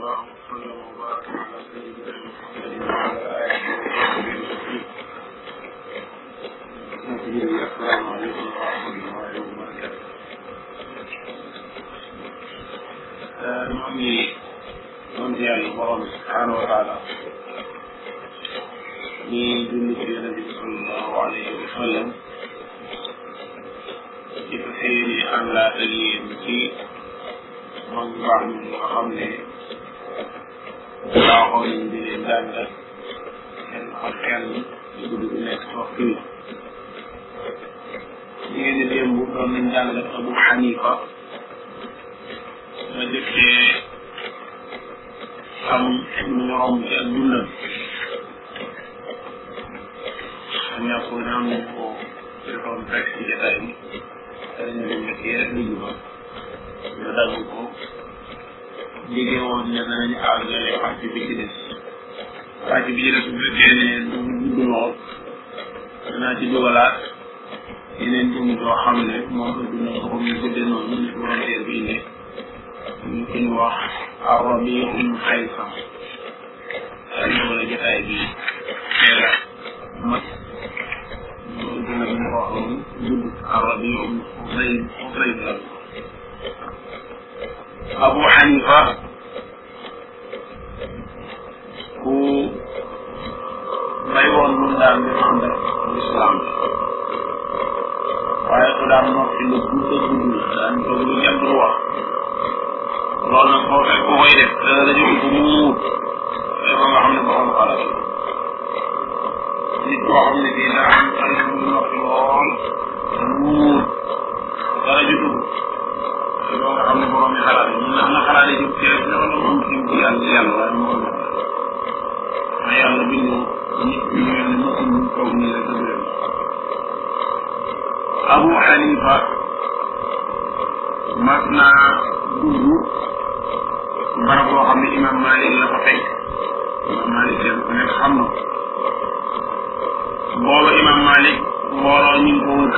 الله وسلم وبارك على سيدنا محمد وعلى آله وصحبه وسلم. السلام عليكم ورحمة الله وبركاته. نعمي نمضي على الله سبحانه وتعالى من جنة النبي صلى الله عليه وسلم ci fasiiri àndaat ak yéen ci mag baax ñi nga xam ne baaxoo nañ di leen jàngal kenn ak kenn ci guddi bu nekk waxtu wi ñu ngeen di démb doon nañ jàngal Abu Hanifa ma jëkkee xam lu ñu romb ci ak dundam xam ñàkk naan nañ ko defoon rek ci jotaay bi dañu leen nekk rek lu ñu ñu dagg ko jege woon ne danañu àggale partie bi ci des partie bi ci des bu fekkee ne du gudd lool danaa ci dugalaat yeneen dund yoo xam ne moom la dund ko comme ñu guddee noonu ni volontaire bi ne ñu ko ñu wax Rabiul Xaysam ñu wala jotaay bi teel a mat loolu dina ñu ko waxoon gudd Rabiul Xaysam Abu Hanifa ku may woon mun daan di ànd ak lislaam waaye ku daan noppi lu gudd a gudd la daan toog lu kenn du wax loolu nag boo fekk ku koy def dana la jóg bu mu muut ba nga xam ne borom xalaat la nit koo xam ne bii daa am xale bu noppi lool muut dara ju dugg loo nga xam ne borom yi xalaat yi mun na am na xalaat yi jóg teel na wala moom ci yàlla waaye moom la ma yàlla bindu nit ñu mel ne mosul ñu kaw nii rek dëgg Abu Hanifa mas naa dugg barab boo xam ne imam Malik la fa fekk imam Malik leen ku nekk xam na booba imam Malik mbooloo ñu ngi ko wër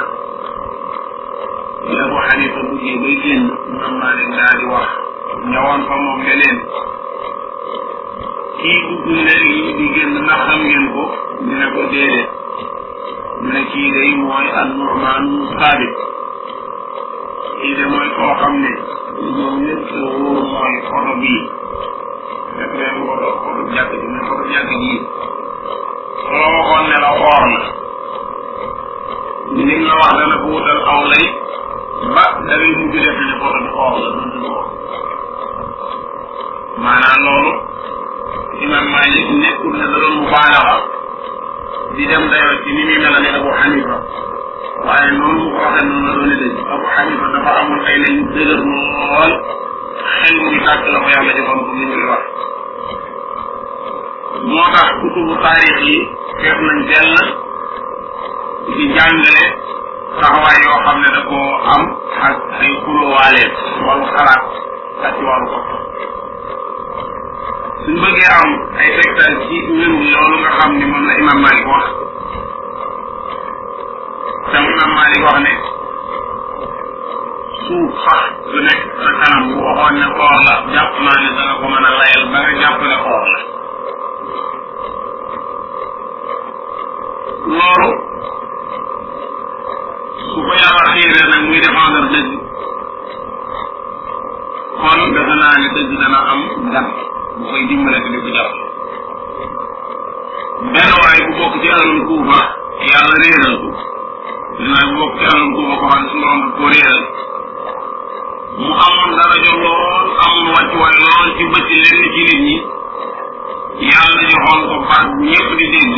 bi Abu Hanifa duggee bay génn imam Malik daal di wax ñëwoon fa moom ne leen kii dugg léegi di génn ndax xam ngeen ko ñu ne ko déedéet mu ne kii day mooy an-Nu'man Saabit kii de mooy koo xam ne ñoom ñëpp la wóor mooy photo bii def leen photo jàkk ji mais photo jàkk ji soo waxoon ne la xoor na li nga wax dana ko wutal aw lay ba da ngay mujj def ne photo bi xoor la doon du xoor maanaam loolu imam Malik nekkul ne da doon mubaalaxa di dem dayoo ci ni muy melale Abu Hanifa waaye noonu mu ko waxee noonu la doon dëgg Abu Hanifa dafa amul ay lañ dëgër lool xel mu ngi tàkk la ko yàlla joxoon comme ni ñu wax moo tax kutubu taarix yi fees nañ dell di jàngale taxawaay yoo xam ne da koo am ak ay xulóowaaleen ci wàllu xalaat ak ci wàllu bopp suñ bëggee am ay tegtal ci wéru loolu nga xam ni moom la imam Malik wax tam imam Malik wax ne suuf sax su nekk sa kanam bu waxoon ne xoor la jàpp naa ne danga ko mën a layal ba nga jàpp ne xoor la loolu su ko yàlla xiiree nag muy défendre dëgg kon defe naa ne dëgg dana am gan bu koy dimbale di ko jàpp benn waay bu bokk ci ahlul Kuufa yàlla réeral ko benn waay bu bokk ci ahlul Kuufa ko xam ne suñu borom ko réeral mu amoon daraja lool amoon wàccuwaay lool ci bëcc lenn ci nit ñi yàlla joxoon ko baat bu ñëpp di dégg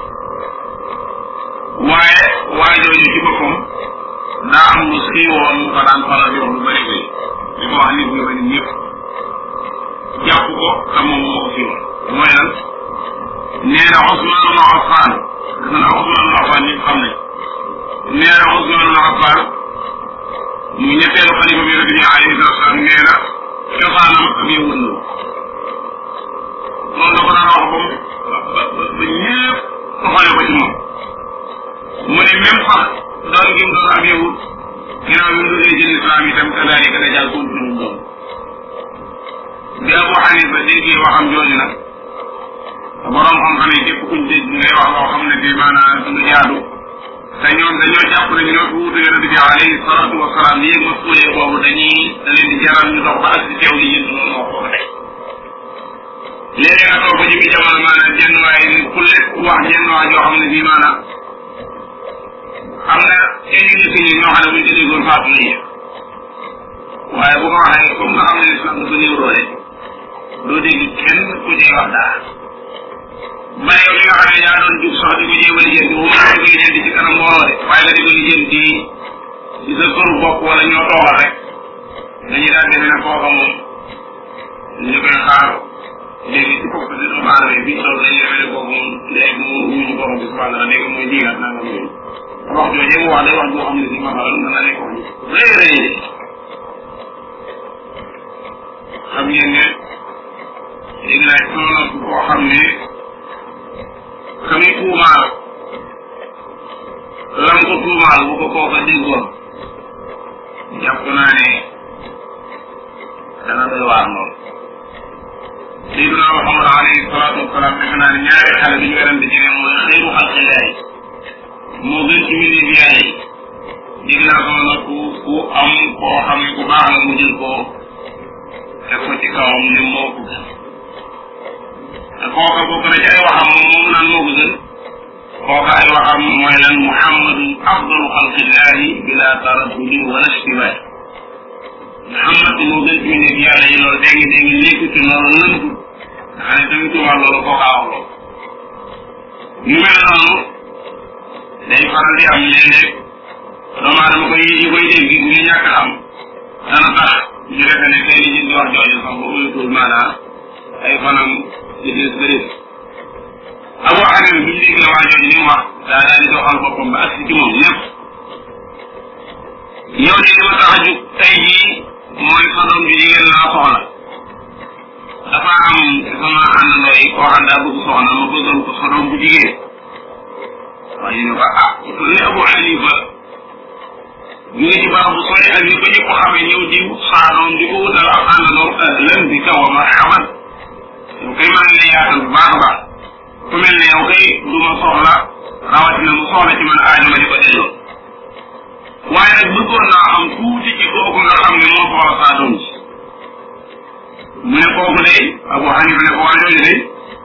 waaye waajooju ci boppam daa am lu siiwoon mu ko daan faral di wax lu bëri bëri di ko wax nit ñu bëri ñëpp jàpp ko te moom moo ko siiwoon mooy lan nee na Usmaan ibn Affaan dafa naa Usmaan ibn Affaan ñëpp xam nañ nee na Usmaan ibn Affaan mu ñetteelu xalifa bi Yonent bi alayhi salaatu salaam nee na cosaanam am yëwut la loolu da ko daan wax ba ñëpp toxale ko ci moom mu ne même sax doon gi mu doon am yëwut ginnaaw bi mu duggee ci lislaam itam kadaalika da jàll continué doon bi Abu Hanifa déggee waxam jooju nag borom xam-xam yi képp kuñ dégg ngay wax loo xam ne bi maanaam du jaadu te ñoom dañoo jàpp ne ñoo fi wuute yonent bi alayhi salaatu wasalaam yéeg masuulee boobu da leen di jaral ñu dox ba ak si teew li yënd loolu moo ko tey léeg-léeg nga toog ba jëmi jamono maanaam jenn waay nit ku lépp wax jenn wax joo xam ne bii maanaam am na ay nit ñi ñoo xam ne buñ ko déggoon faatu nañu waaye bu ko waxee comme nga xam ne islam dafa néew doole doo dégg kenn ku ciy wax dara ba yow li nga xam ne yaa doon jug sax di ko jéem a lijjanti bu ma ko lijjanti ci kanam mbooloo de waaye nga di ko lijjanti ci sa këru bopp wala ñoo toogal rek dañuy daal defe ne kooka moom ñu koy xaar léegi ci bopp di doomu aadama yi biñ toll dañuy defe ne kooku moom léegi mu wuñu borom bi subhanahu wa léegi mooy diigaat nangam yooyu wax jooju mu wax day wax boo xam ne si masalan mën na nekk wax rëy rëy xam ngeen ne léegi laaj soxna koo xam ne xami tuumaal lam ko tuumaal bu ko kooka déggoon jàpp naa ne dana doy waar lool Seydina Muhammad alayhi salaatu wasalaam defe naa ne ñaari xale bi ñu werante ci ne mooy xayru xalqillahi moo gën ci mbindeef yàlla yi dégg naa ko nag ku am koo xam ne ku baax la mu jël koo teg ko ci kawam ne moo ko gën te kooka bokk na ci ay waxam moom naan moo ko gën kooka ay waxam mooy lan Muhammadu afdalu xalqillahi bila taraddudi wala ishtibaah Muhammad moo gën ci mbindeef yàlla yi loolu dégg nekk ci loolu lëntu nga xam ne tamit tubaab loolu kooka wax loolu yu mel noonu day faral di am léeg-léeg doomu aadama koy dégg ñu ñàkk xam dana tax ñu defe ne kay li wax jooju sax ba uyutul maanaam ay fanam ci des bëri Abu Hanifa bi ñu dégg la waa jooju li mu wax daa daal di doxal boppam ba agsi ci moom lépp yow de li ma tax a jug tey jii mooy sa doom bi jigéen laa soxla dafa am sama àndandoo yi koo xam daa bëgg soxna ma bëggoon ko sa doom bu jigéen waaye ñu ne ko li Abu Hanifa ñu ngi ci barab bu sori ak ni ko ñëpp xamee ñëw di saa doom di ko wutal ak àndandoo lan bi kaw a marhaban yow kay maa ngi lay yaatal bu baax a baax ku mel ne yow kay du ma soxla rawatina mu soxla ci man aajo ma di ko delloo waaye nag bëggoon naa xam tuuti ci kooku nga xam ne moo soxla saa doom ji mu ne kooku day Abu Hanifa ne ko waa jooju day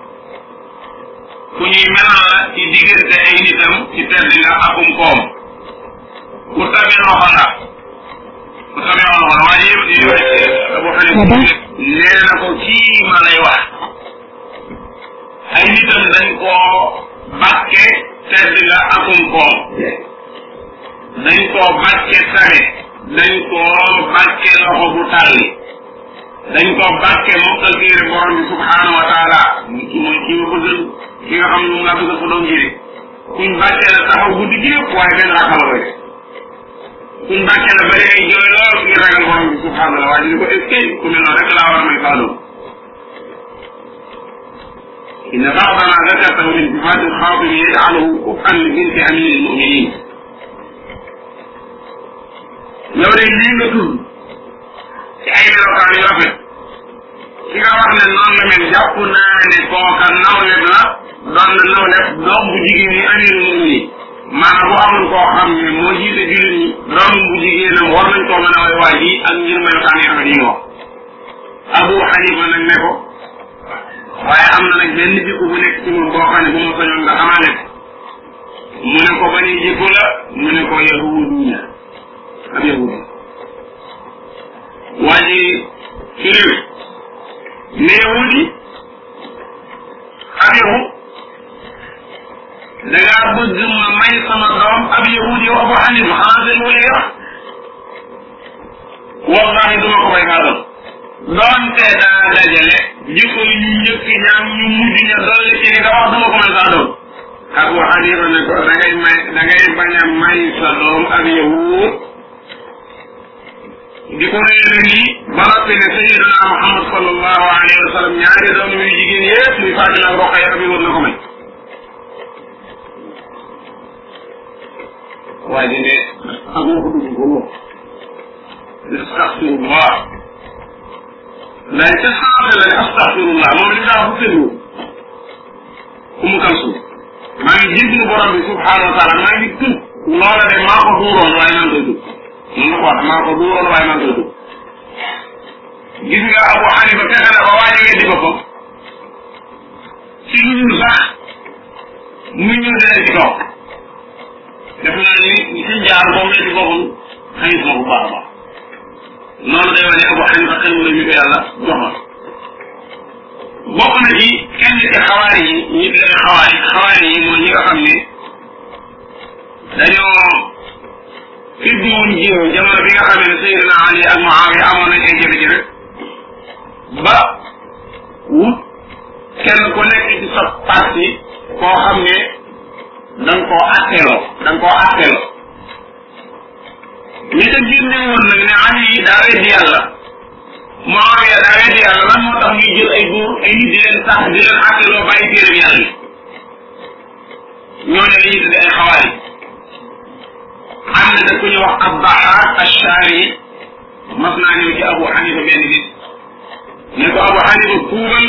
ku ñuy melal la ci diggante ay nitam ci tedd nga akum koom ku tabee loxo la waaye Abu Hanifa nee na ko kii ma lay wax ay nitam dañ koo bàkke tedd nga akum koom dañ koo bàkke tabe dañ koo bàkke loxo bu tàlli dañ koo bàkke mokkal téere borom bi subhanahu wa taala mooy kii ma bëggal ki nga xam ne moom laa bëggal ko doom jëri kuñ bàkke la taxaw guddi gi yëpp waaye benn rakala rek kuñ bàkke la bari ay jooy lool ngir ragal borom bi subhanahu wa taala waaye ñu ko est-ce que ku mel noonu rek laa war a may saa doom inna ba'dana zakartahu min sifaati al-xaatimi yaj'aluhu kuf'an li binti amiri al-mu'minin yow de lii nga tudd ci ay melokaan yu rafet ki nga wax ne noonu la mel jàpp naa ne kooka nawleb la doon na nawleb doom bu jigéen ñi amirul mu'minin maanaam bu amul koo xam ne moo jiite jullit ñi doom bu jigéenam war nañ koo mën a way waa ji ak ngir melokaan yi rafet yi nga wax Abu Hanifa nag ne ko waaye am na nag benn jikko bu nekk ci moom boo xam ne bu ma sañoon nga amaale ko mu ne ko bani jikko la mu ne ko yahudiya ab yahudi waa ji firiw ne yahudi ab yahud da ngaa bëgg ma may sama doom ab yahudi yow Abu Hanifa xanaa seen wala wax wallahi duma ko may kaa doon doonte daa dajale jikko ñu njëkk ñaam ñu mujj ña dolli ci li nga wax duma ko may kaa doon Abu Hanifa ne ko da ngay bañ a may sa doom ab yahud di ko réere nii ba noppi ne Sayyidina Muhammad sallallahu alayhi wa sallam ñaari doom yu jigéen yëpp muy Fatima ak Roqaya bi war na ko may waa ji ne ak ma ko dugg ko moom astaghfirullah ndax ca saase la ne astaghfirullah moom li daa fa tëddu Umu Kalsum maa ngi jéglu borom bi subhanahu wa taala maa ngi tub loola de maa ko duuroon waaye maa ngi koy tub mun na ko wax maa ko duuroon waaye maa ngi koy tub gis nga Abu Hanifa fexe na ba waaje weddi boppam ci lu dul sax muy ñëw dina ci kaw def naa ni ci jaar moom weddi boppam xañis ma bu baax a baax noonu day wane Abu Hanifa xel mu la ñu ko yàlla joxoon bokk na ci kenn ci xawaari yi ñi tuddee xawaari yi mooy ñi nga xam ne dañoo fiddi woon jiw jamono bi nga xam ne Seydina Ali ak Muawiya amoon nañ ay jafe-jafe ba wut kenn ku nekk ci sa parti koo xam ne da nga koo atteeloo ñi ca génne woon nag ne Ali yi daa weddi yàlla Muawiya daa weddi yàlla lan moo tax ñuy jël ay góor ay nit di leen sax di leen atteeloo bàyyi téere yàlla yi ñooñu la ñuy tuddee ay xawaari am na nag ku ñu wax Abdahak Ashari mas naa ñëw ci Abu Hanifa benn nit ne ko Abu Hanifa tuubal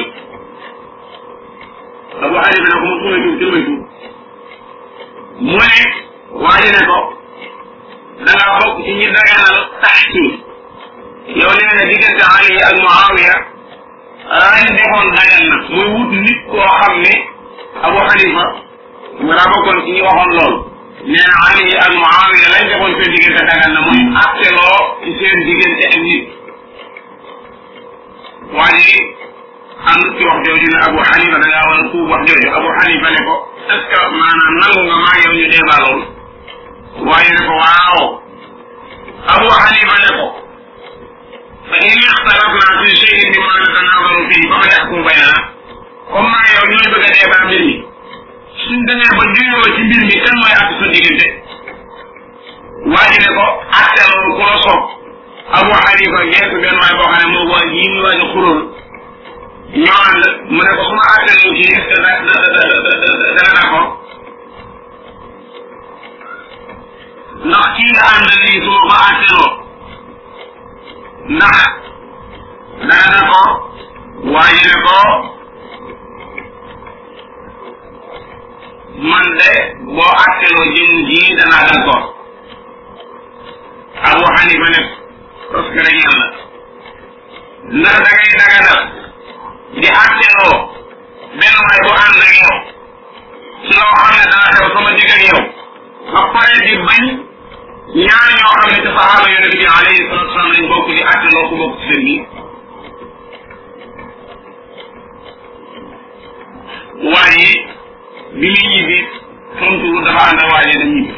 Abu Hanifa ne ko ma tuubal tuub jël may tuub mu ne waaye ne ko da ngaa bokk ci ñi daganal taxkiim yow nee na diggante Ali ak Muawiya lañ defoon dagan na muy wut nit koo xam ne Abu Hanifa nga daa bokkoon ci ñi waxoon loolu nee na Ali ak Muawiya lañ defoon seen diggante dagan na muy atteloo ci seen diggante ak nit waaye am ci wax jooju ne Abu Hanifa da ngaa war a tuub wax jooju Abu Hanifa ne ko est-ce que maanaam nangu nga maa yow ñu débat loolu waaye ne ko waaw Abu Hanifa ne ko fa in ixtalafna fi shay'in mimma natanazaru fihi fa man yahkum baynana comme maa yow ñooy bëgg a débat mbir mi suñ demee ba juyoo ci mbir mi kan mooy àtte sa diggante waaye ne ko àtte loolu ku la soog Abu Hanifa geesu benn waay boo xam ne moo waa ji muy waaj a xuróol ñoo ànd mu ne ko su ma àtte loolu kii est-ce que dana d'accord ndax kii nga ànd nii su ma ko àtteloo ndax dana d'accord waaye ne ko man de boo àtteloo jëm ji danaa d'accord Abu Hanifa ne parce que rek yàlla ndax da ngay daganal di àtteloo benn waay bu ànd ak yow ci loo xam ne dana xew sama digg ak yow ba pare di bañ ñaar ñoo xam ne ci saxaaba yonent bi alayhi salatu wasalam lañ bokk di àtteloo ku bokk ci seen bi waaye bi muy ñibbi tontu dafa ànd ak waaye dem ñibbi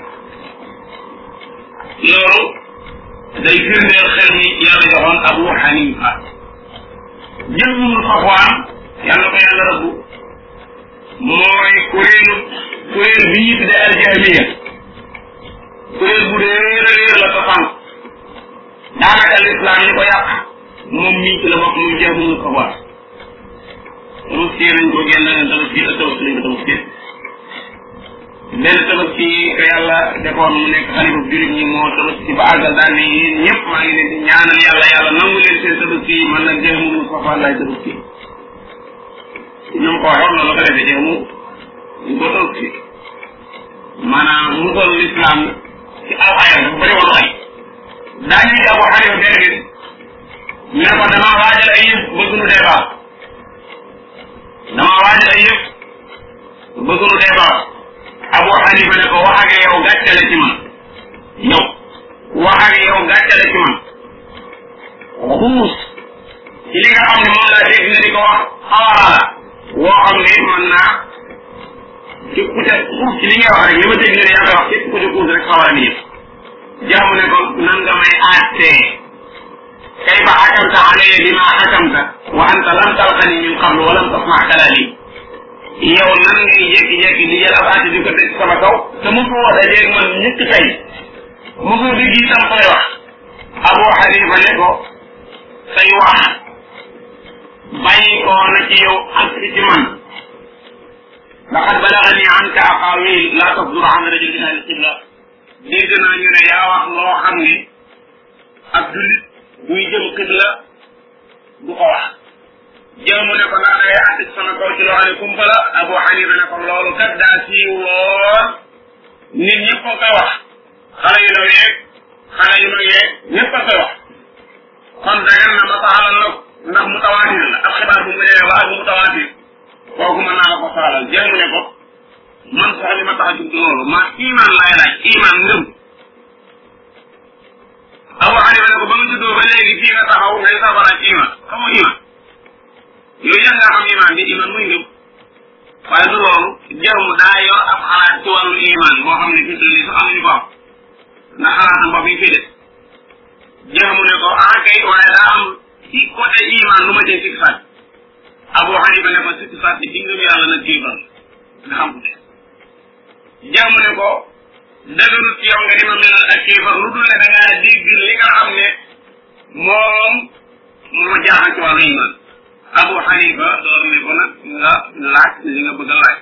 loolu day firndeel xel mi yàlla joxoon Abu Hanifa jël mu Safwaan yàlla ko yàlla rëbbu mooy kuréel bi ñuy tudde al-Jahmiya kuréel bu réer la ko sànq daanaka l'islam ñi ko yàq moom mii ci la bokk muy Jahm mu Safwaan tabaski nañ ko génn tabaski ak tabaski lañ ko tabaski benn tabaski ka yàlla defoon mu nekk xalifa jurit ñi moo tabaski ba àggal daal ne yéen ñëpp maa ngi leen di ñaanal yàlla nangu leen seen tabaski man nag Jahm mu Safwaan laay tabaski ñoom ko waxoon loolu la ko defee Jahm ñu ko tabaski maanaam mu toll l'islam ci aw ayam dafa bëri woon ay daañu ci Abu Hanifa benn bis ne ko dama waajal ay yëf bëgg nu débat Abu Hanifa ne ko wax ak yow gàcce la ci man yow wax ak yow gàcce la ci man xuus ci li nga xam ne moom laa dégg nga di ko wax xawara la woo xam ne mën naa ci ku ca xuus ci li ngay wax rek li ma dégg nga ne yaa koy wax képp ku ca xuus rek xawara ni yëpp Jahm ne ko nan nga may àttee kayfa xakamta alayya bima xakamta wa anta lam talqani min qablu wa lam tasma kalaami yow nan ngay jékki-jékki di jël ab àtte di ko teg sama kaw te mosoo dajeeg man ñëkk tey mosoo dégg itam say wax Abu Hanifa ne ko say wax bàyyi ko na ci yow ak ci man laqad balagani anka aqawil la tasdur an rajul min ahli qibla dégg naa ñu ne yaa wax loo xam ne ab jullit buy jëm qibla du ko wax jëmu ne ko ndax dangay àtte sama kaw ci loo xam ne kumpa la Abu Hanifa ne ko loolu kat daa siiw lool nit ñëpp a koy wax xale yu ndaw yeeg xale yu mag yeeg ñëpp a koy wax kon dagan na ma saxalal la ndax mutawaatir la ab xibaar bu mu demee ba ak mutawaatir kooku mën naa la ko saxalal jëmu ne ko man sax li ma tax a jug loolu ma iman laay laaj iman ngëm Abu Hanifa ne ko ba nga juddoo ba léegi fii nga taxaw ngay sabaraat iman xamoo iman yow yaa nga xam iman bi iman muy ngëm waaye du loolu jaww daa yor ab xalaat ci wàllu iman boo xam ne fii nii sax am nañu ko am ndax xalaatam bopp yi fii de jaww ne ko ah kay waaye daa am ci côté iman lu ma cay sikk sàcc Abu Hanifa ne ko sikk sàcc ci ngëm yàlla nag kéefar nga xam ko de jaww ne ko dëgërut yow nga di ma melal ak kéefar lu dul ne da ngaa dégg li nga xam ne moom moo jaaxal ci wàllu iman Abu Hanifa door ne ko nag nga laaj li nga bëgg a laaj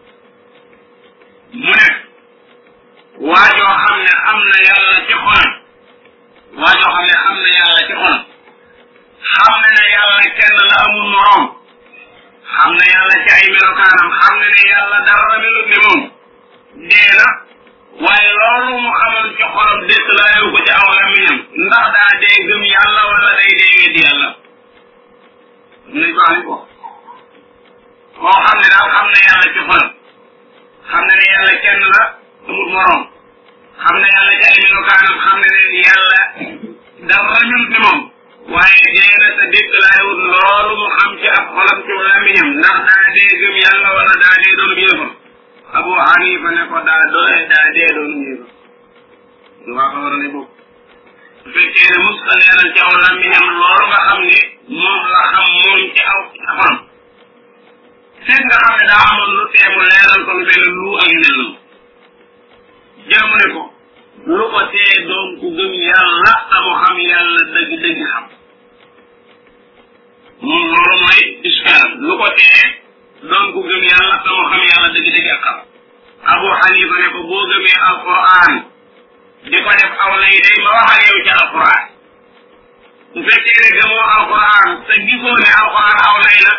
mu ne waajoo xam ne am na yàlla ci xolam waajoo xam ne am na yàlla ci xolam xam ne ne yàlla kenn la amul moroom xam ne yàlla ci ay melokaanam xam ne ne yàlla dara melut ne moom dee na waaye loolu mu xamal ci xolam dëkk laayu ko ci aw lamiñam ndax daa dee gëm yàlla wala day dee weddi yàlla nañ ko xam ko koo xam ne daal xam ne yàlla ci xolam xam ne ne yàlla kenn la amul moroom xam ne yàlla ci ay melokaanam xam ne ne yàlla dara melut ne moom waaye dee na sa dëkk laayut loolu mu xam ci ab xolam ci lamiñam ndax daa dee gëm yàlla wala daa dee doon yéefar Abu Hanifa ne ko daa dee doon yéefar lu waa ko war a ne boobu su fekkee ne mus ka leeral ci aw làmmiñam loolu nga xam ne moom la xam moom ci aw xolam fekk nga xam ne daa amoon lu teemu leeral ko lu mel ne lu ak yu mel noonu jëmu ne ko lu ko tee doon ku gëm yàlla amu xam yàlla dëgg-dëgg xam moom loolu mooy iskaalam lu ko tee doon ku gëm yàlla amu xam yàlla dëgg-dëgg ak xam Abu Hanifa ne ko boo gëmee alquran di ko def aw lay day ma wax ak yow ci alquran su fekkee ne gëmoo alquran te gisoo ne alquran aw lay la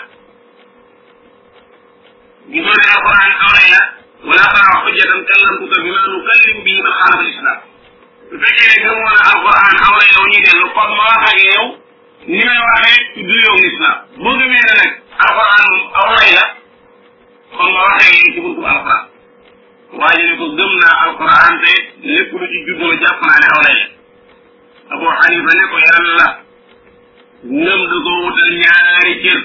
gisoo ne alquran aw lay la wala tara xujjatan kallamtuka bima nukallimu bihi man xaalafa al-islam su fekkee ne gëmoo ne alquran aw lay la ñuy dellu kon ma wax ak yow ni may waxee ci du yow l'islam boo gëmee ne nag alquran moom aw lay la kon ma wax ak yow ci buntu alquran waaye ne ko gëm naa alquran te lépp lu ci juddoo jàpp naa ne aw lay la Abu Hanifa ne ko yàlla ngëm du ko wutal ñaari cër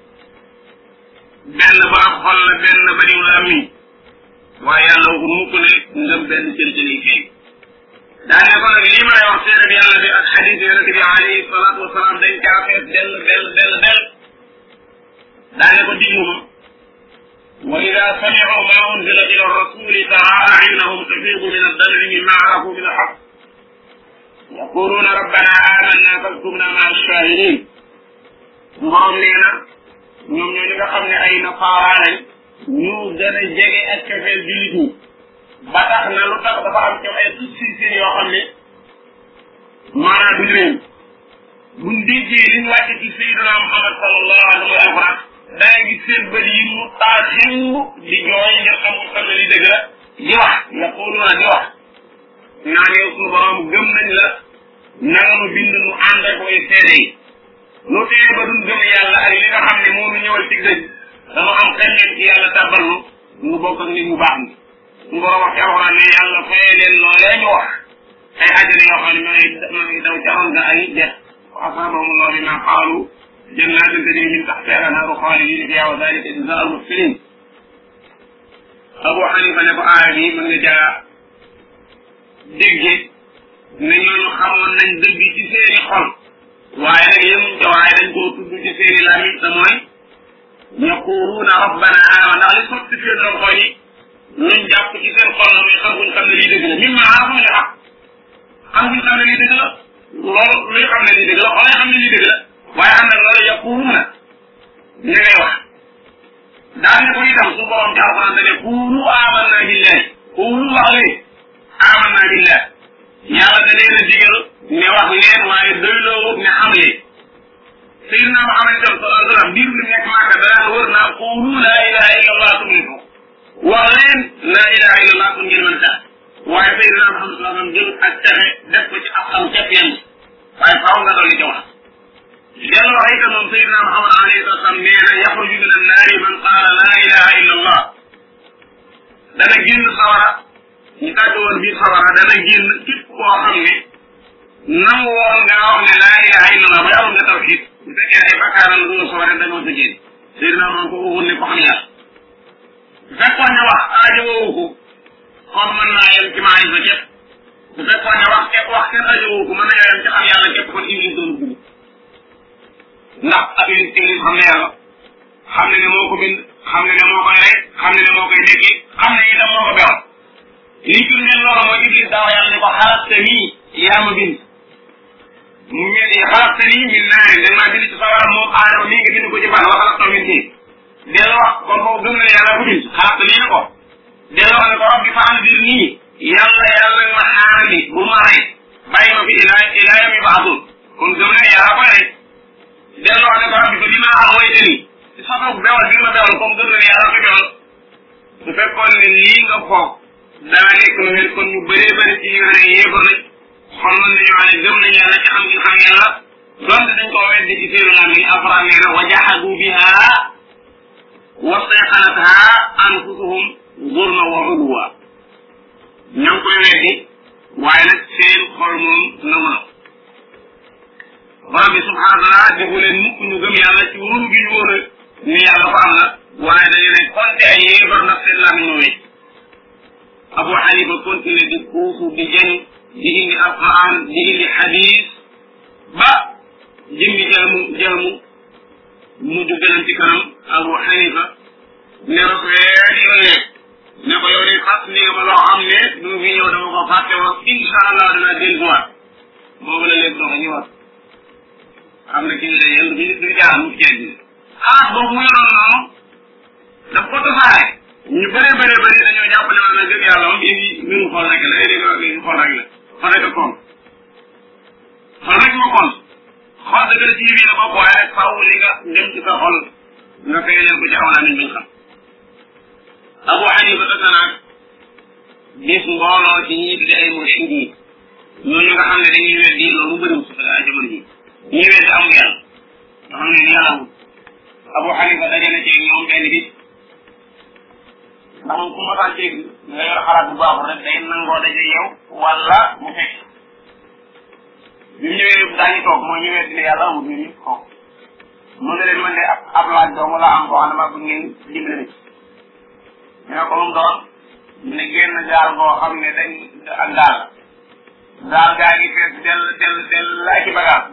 benn ba ab xol la benn ba diw la am waaye yàlla waxul mukk ne ngëm benn cër ci lay feeñ daa ne ko nag lii may wax seede bi yàlla bi ak xadis yonente bi alayhi salaatu wasalaam dañ caa fees dell daa ne ko diglu ma وإذا سمعوا ما أنزل إلى الرسول ترى أعينهم تفيض من الدمع مما عرفوا من الحق يقولون ربنا آمنا فاكتبنا مع الشاهدين borom nee na ñoom ñoo ñi nga xam ne ay nasaara lañ ñu gën a jege ak cofeel jullit ñi ba tax na lu tax dafa am ci ay succès yoo xam ne maanaam duñ leen buñ déggee liñ wàcce ci Seydina Muhammad sallallahu alayhi wa sallam danga gis seen bët yi mu taa ximb di jooy ngir xamul xam ne li dëgg la di wax yaquluna di wax naan yow suñu borom gëm nañ la nanga nu bind nu ànd ak way seede yi lu tee ba duñ gëm yàlla ak li nga xam ne moo nu ñëwal ci dëgg dama am xel leen ci yàlla tàbbal nu bokk ak nit ñu baax ni suñu borom wax ci alxuraan ne yàlla fayee leen loolee ñu wax ay àjjana yoo xam ne ma ngi daw caroon nga ay dex wa asaabahum allahu bima qaalu جنات تجري من تحتها الانهار خالدين فيها وذلك جزاء المحسنين Abu Hanifa ne ko aaya bi mën nga caa dégge ne ñooñu xamoon nañ dëgg ci seeni xol waaye nag yemuñ ca waaye dañ koo tudd ci seeni làmmiñ te mooy yaquluuna rabbana aamana ndax li sotti seen loxo yi luñ jàpp ci seen xol la muy xam buñ xam ne lii dëgg la mimma arafu min al-haqq xam buñ xam ne lii dëgg la loolu luy xam ne lii dëgg la xoolee xam ne lii dëgg la waaye ànd ak loolu yaquluuna ña ngay wax daal ne ko itam su borom ci alquran da ne quulu amanna billahi quulu wax leen amanna billahi yàlla da leen a digal ne wax leen waaye doyloo ne xam leen Seydina Muhammad sallallahu alayhi wa sallam diir bi nekk Màkka danaan wër naa quulu laa ilaha illa allah tuflihu wax leen laa ilaha illa allah pour ngeen mën a tax waaye Seydina Muhammad sallallahu alayhi wa sallam jël ak texe def ko ci am ca yenn waaye faaw nga dolli ca wax dellu wax itam moom Seydina Muhammad alayhi wa sallam nee na yaxruju min annaari man qaala laa ilaha illa allah dana génn sawara ñu tàgg woon biir sawara dana génn képp koo xam ne nangu woon nga wax ne laa ilaha illa allah ba amoon nga tawxiid bu fekkee ay bakkaaram la sawara dañoo sa génn Seydina Muhammad ko waxoon ne ko xam yàlla bu fekkoon ne wax aajo woowu ko kon mën naa yem ci maay ba képp bu fekkoon ne wax kenn aajo woowu ko mën na yem ci xam yàlla képp kon Iblis doon dugg ndax ak Iblis xam ne yàlla xam ne moo ko bind xam ne moo koy rey xam ne moo koy dekki xam ne itam moo ko bewoon lii firndeel loolu mooy Iblis daaw yàlla ne ko xalaqtanii yaa ma bind mu ñetti xalaqtanii min naarin da nga maa bind ci sawara moom aadama nii nga bind ko ci ban wa xalaqtahu min tiin delloo wax kon foofu gëm na ne yàlla ko bind xalaqtanii na ko delloo wax ne ko rabbi fa anzirnii yàlla ma xaarandi bu ma rey bàyyi ma fi ilaa yawmi yub'athuun kon gëm na yàlla koy rey delloo wax ne ko rabbi fa bimaa aghwaytanii sabab bewal bi ma bewal comme gëm na ne yàlla ko bewal su fekkoon ne lii nga foog daa nekk lu wér kon ñu bëree bëri ci ñi nga xam ne yéefar nañ xol mën nañu wax ne gëm nañ yàlla ci xam gi xam yàlla donte dañ koo weddi ci seenu lam yi alquran nee na wa jahadu biha wastayqanatha anfusuhum zulma wa uluwa ña ngi koy weddi waaye nag seen xol moom nangu na borom bi subhanahu wa taala defu leen mukk ñu gëm yàlla ci wóoru gi ñu wóor ni yàlla ko am la waaye dañu ne konte ay yéefar ndax seen lam ñu wéy Abu Hanifa continué di kuufu di jëñ di indi alquran di indi hadis ba jëmmi jaamu mujj gënam ci kanam Abu Hanifa ne ko yónnee ne ko yow de fàtt ni nga ma loo xam ne du fi ñëw dama ko fàtte woon incha allah dinaa dellusiwaat boobu la léegi dox ñëwaat xam ne kii la yéen du jaar mu ceeb bi boobu mu yoroon noonu daf ko tasaare ñu bëree dañoo jàpp ne maanaam gëm yàlla moom indi mbiru xol rek la léegi xol rek la xol rek a kon xol rek moo kon xol dëgg la ci yëf yi la bopp waaye rek faaw li nga dem ci sa xol nga fay leen ko ci aw nañ bañ xam Abu Hanifa tasa naag bis mbooloo ci ñi tudde ay mursid yi ñooñu nga xam ne dañuy weddi loolu bëriwul si jamono ji ñuy weddi amul yàlla nga xam ne yàlla amul Abu Hanifa dajale ci ñoom benn bis ndax moom ku ma dégg nga yor xalaat bu baaxul rek day nangoo daje yow wala mu fekk bi mu ñëwee daañu toog mooy ñu weddi ne yàlla amul ñu ni toog mu ne leen man de ab laaj doomu la am boo xam ne maa bëgg ngeen dimbali ñu ne ko mu doon ne génn gaal boo xam ne dañ ak gaal gaa ngi fees dell laa ci bagage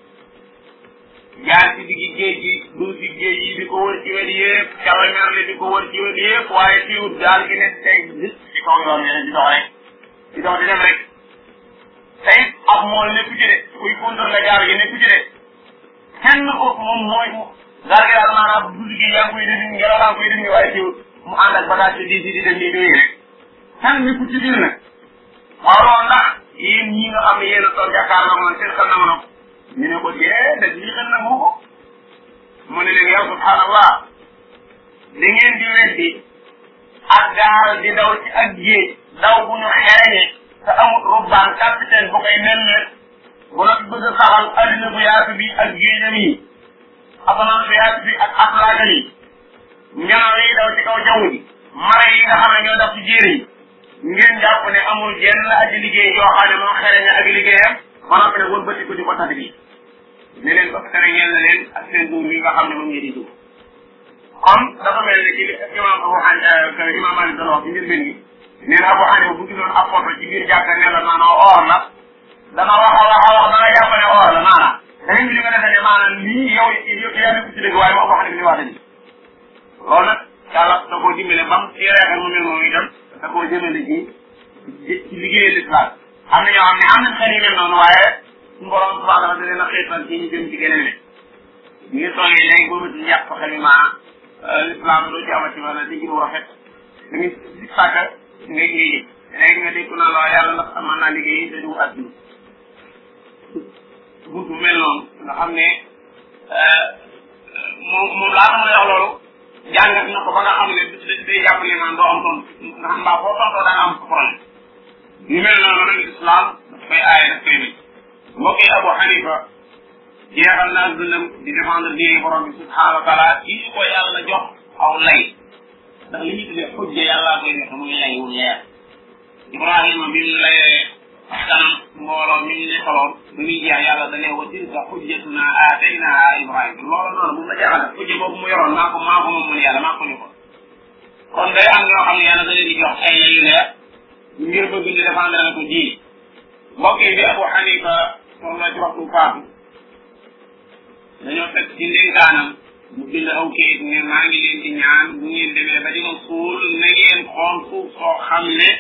jaar ci diggi géej gi dugg ci géej yi di ko wër ci wet yëpp jàll merle di ko wër ci wet yëpp waaye fiwut gaal gi ne tey ci kaw yoon yi di dox rek di dox di dem rek te it ab mool nekku ci de kuy contrôler gaal gi nekku ci de kenn ko moom mooy gaal gi daal maanaam dugg gi yaa ngi koy dindi ngelaw laa ngi koy dindi waaye fiwut mu ànd ak bagage di di dem nii doy rek kenn nekku ci biir nag waaw loolu ndax yéen ñi nga xam ne yéen a toog jàkkaarloo man seen xel na ma ñu ne ko déedéet lii xel na moo ko mu ne leen yow subhanallah da ngeen di weddi ak gaal di daw ci ak géej daw bu ñu xereñe te amul rubbaan capitaine bu koy nemmeet bu nag bëgg a saxal adduna bu yaatu bi ak géejam yi asamaan bu yaatu bi ak aflaagam yi ñanaaw yi daw ci kaw jaww ji mara yi nga xam ne ñoo daf ci jéere yi ngeen jàpp ne amul jenn aji liggéey yoo xam ne moo xereñe ak liggéeyam ba noppi nag wër bëti ko di ko tax bi ne leen ba tere ñeel na leen ak seen dóor yi nga xam ne moom ngeen di dóor kon dafa mel ne ci li imam Abu Hanifa imam Malik doon wax ci mbir benn gi nee na Abu Hanifa bu gisoon ab photo ci biir jàkka ne la maanaam or la dana wax da nga jàpp ne or la maanaam dañu li nga defee ne maanaam lii yow yaa nekk ci dëgg waaye moo Abu Hanifa li wax dañu loolu nag yàlla da koo dimbale ba mu ci reexal mu mel noonu itam da koo jëmale ci liggéeyal islam am na ñoo xam ne am nañ xel yu mel noonu waaye suñu borom subhanahu wa taala da leen a xeetal ci ñu jëm ci geneen ne ñu ngi toogee léegi boobu ci yàq ko xel l'islam doo ci amati wala di gën rafet da ngay si sàkk ngay liggéey léegi nga dégg naa la yàlla ndax mën naa liggéey te du àdduna buntu mel noonu nga xam ne moom laata may wax loolu jàngat na ko ba nga xam ne day jàpp ne naan doo am tontu nga xam mbaa foo tontoo da nga am problème yu mel noonu nag islam daf koy aaye daf koy bañ mbokk yi Abu Hanifa jeexal naa dundam di défendre diine borom bi subhanahu wa taala kii ko yàlla jox aw lay ndax li ñu tuddee xujja yàllaa koy def muy lay wu leer Ibrahima bi mu layee kanam mbooloo mi ñu nekkaloon bi muy jeex yàlla da ne wa tilka xujjatuna aataynaha Ibrahima loolu noonu bu ma jeexal xujja boobu mu yoroon maa ko moom mun yàlla maa ko ni ko kon day am ñoo xam ne yàlla da leen di jox ay lay yu leer ngir bëgg ñu défendre na ko ji mbokk yi bi Abu Hanifa soxla ci waxtu faatu dañoo fekk ci ndénkaanam mu bind aw kayit ne maa ngi leen di ñaan bu ngeen demee ba di ma suul na ngeen xool suuf soo xam ne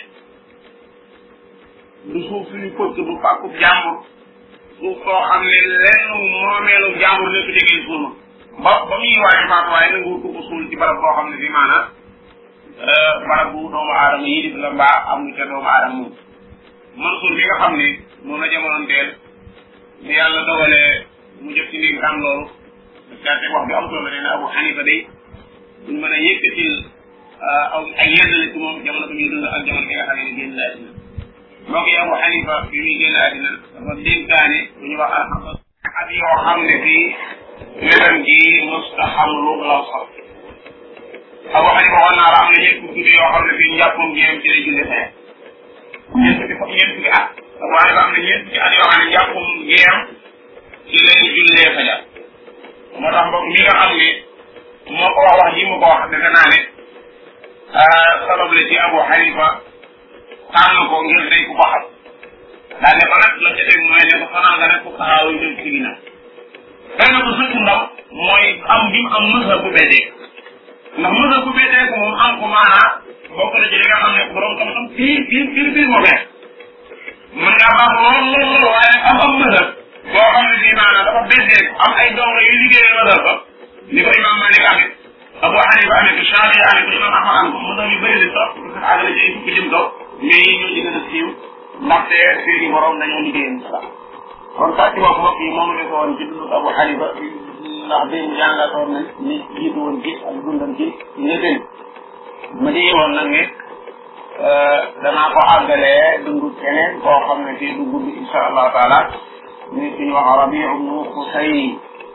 du suuf suñu pëkk bu pàkkub jàmbur suuf soo xam ne lenn moomeelu jàmbur nekk ci ngeen suul ma ba muy waaye faatu waaye nangu ko suul ci barab boo xam ne fii maanaam barab bu doomu aadama yi di la mbaa am lu ca doomu aadama moom Mansour bi nga xam ne moom la jamonoon teel ni yàlla dogalee mu jot ci ndénkaan loolu daate wax bi am solo nee na Abu Hanifa day duñ mën a yëkkatil ay yeddale ci moom jamono bi ñuy dund ak jamono bi nga xam ne génn àddina mbokk yi Abu Hanifa bi muy génn àddina dafa dénkaane bu ñu wax alxam at yoo xam ne fii wetam gi musta xam lu law sax Abu Hanifa waxoon naa la am na ñeent fukki guddi yoo xam ne fii njàppam gi ci lay julli fee ñeent fukki at Abu Hanifa am na ñeent fukki at yoo xam ne njàppam géem ci lay jullee fajar moo tax mbokk mi nga xam ne moo ko wax ji mu ko wax defe naa ne sabab la ci Abu Hanifa tànn ko ngir day ku ko xam daal ne ko nag la ca teg mooy ne ko fanaan nga ne ko taxaaw jëm ci ginnaaw xëy na ko sëkk ndaw mooy am bi mu am mësa bu beddee ndax mësa bu beddee ko moom am ko maanaa bokk na ci li nga xam ne borom xam-xam fii moo bees mën ngaa baax lool waaye am mësa boo xam ne bii maanaam dafa beddee am ay dongo yu liggéeyee mësal ko ni ko imam Malik amee Abu Hanifa amee ko Shafi amee ko imam Ahmad am ko mësal yu bëri li sax àgg na ci ay fukki jëm kaw mais yi ñoo ci gën a siiw ndaxte seeni borom dañoo liggéeyee mësal kon sax ci wax mbokk yi moom la ko woon ci dund Abu Hanifa ndax dañ jàngatoon nañ ni jiitu woon ci ak dundam ci ñëppeen ma di woon nag ne danaa ko àggalee dundu keneen koo xam ne fii du gudd insha allah taala ñu ci wax Rabi'u ibnu Xusay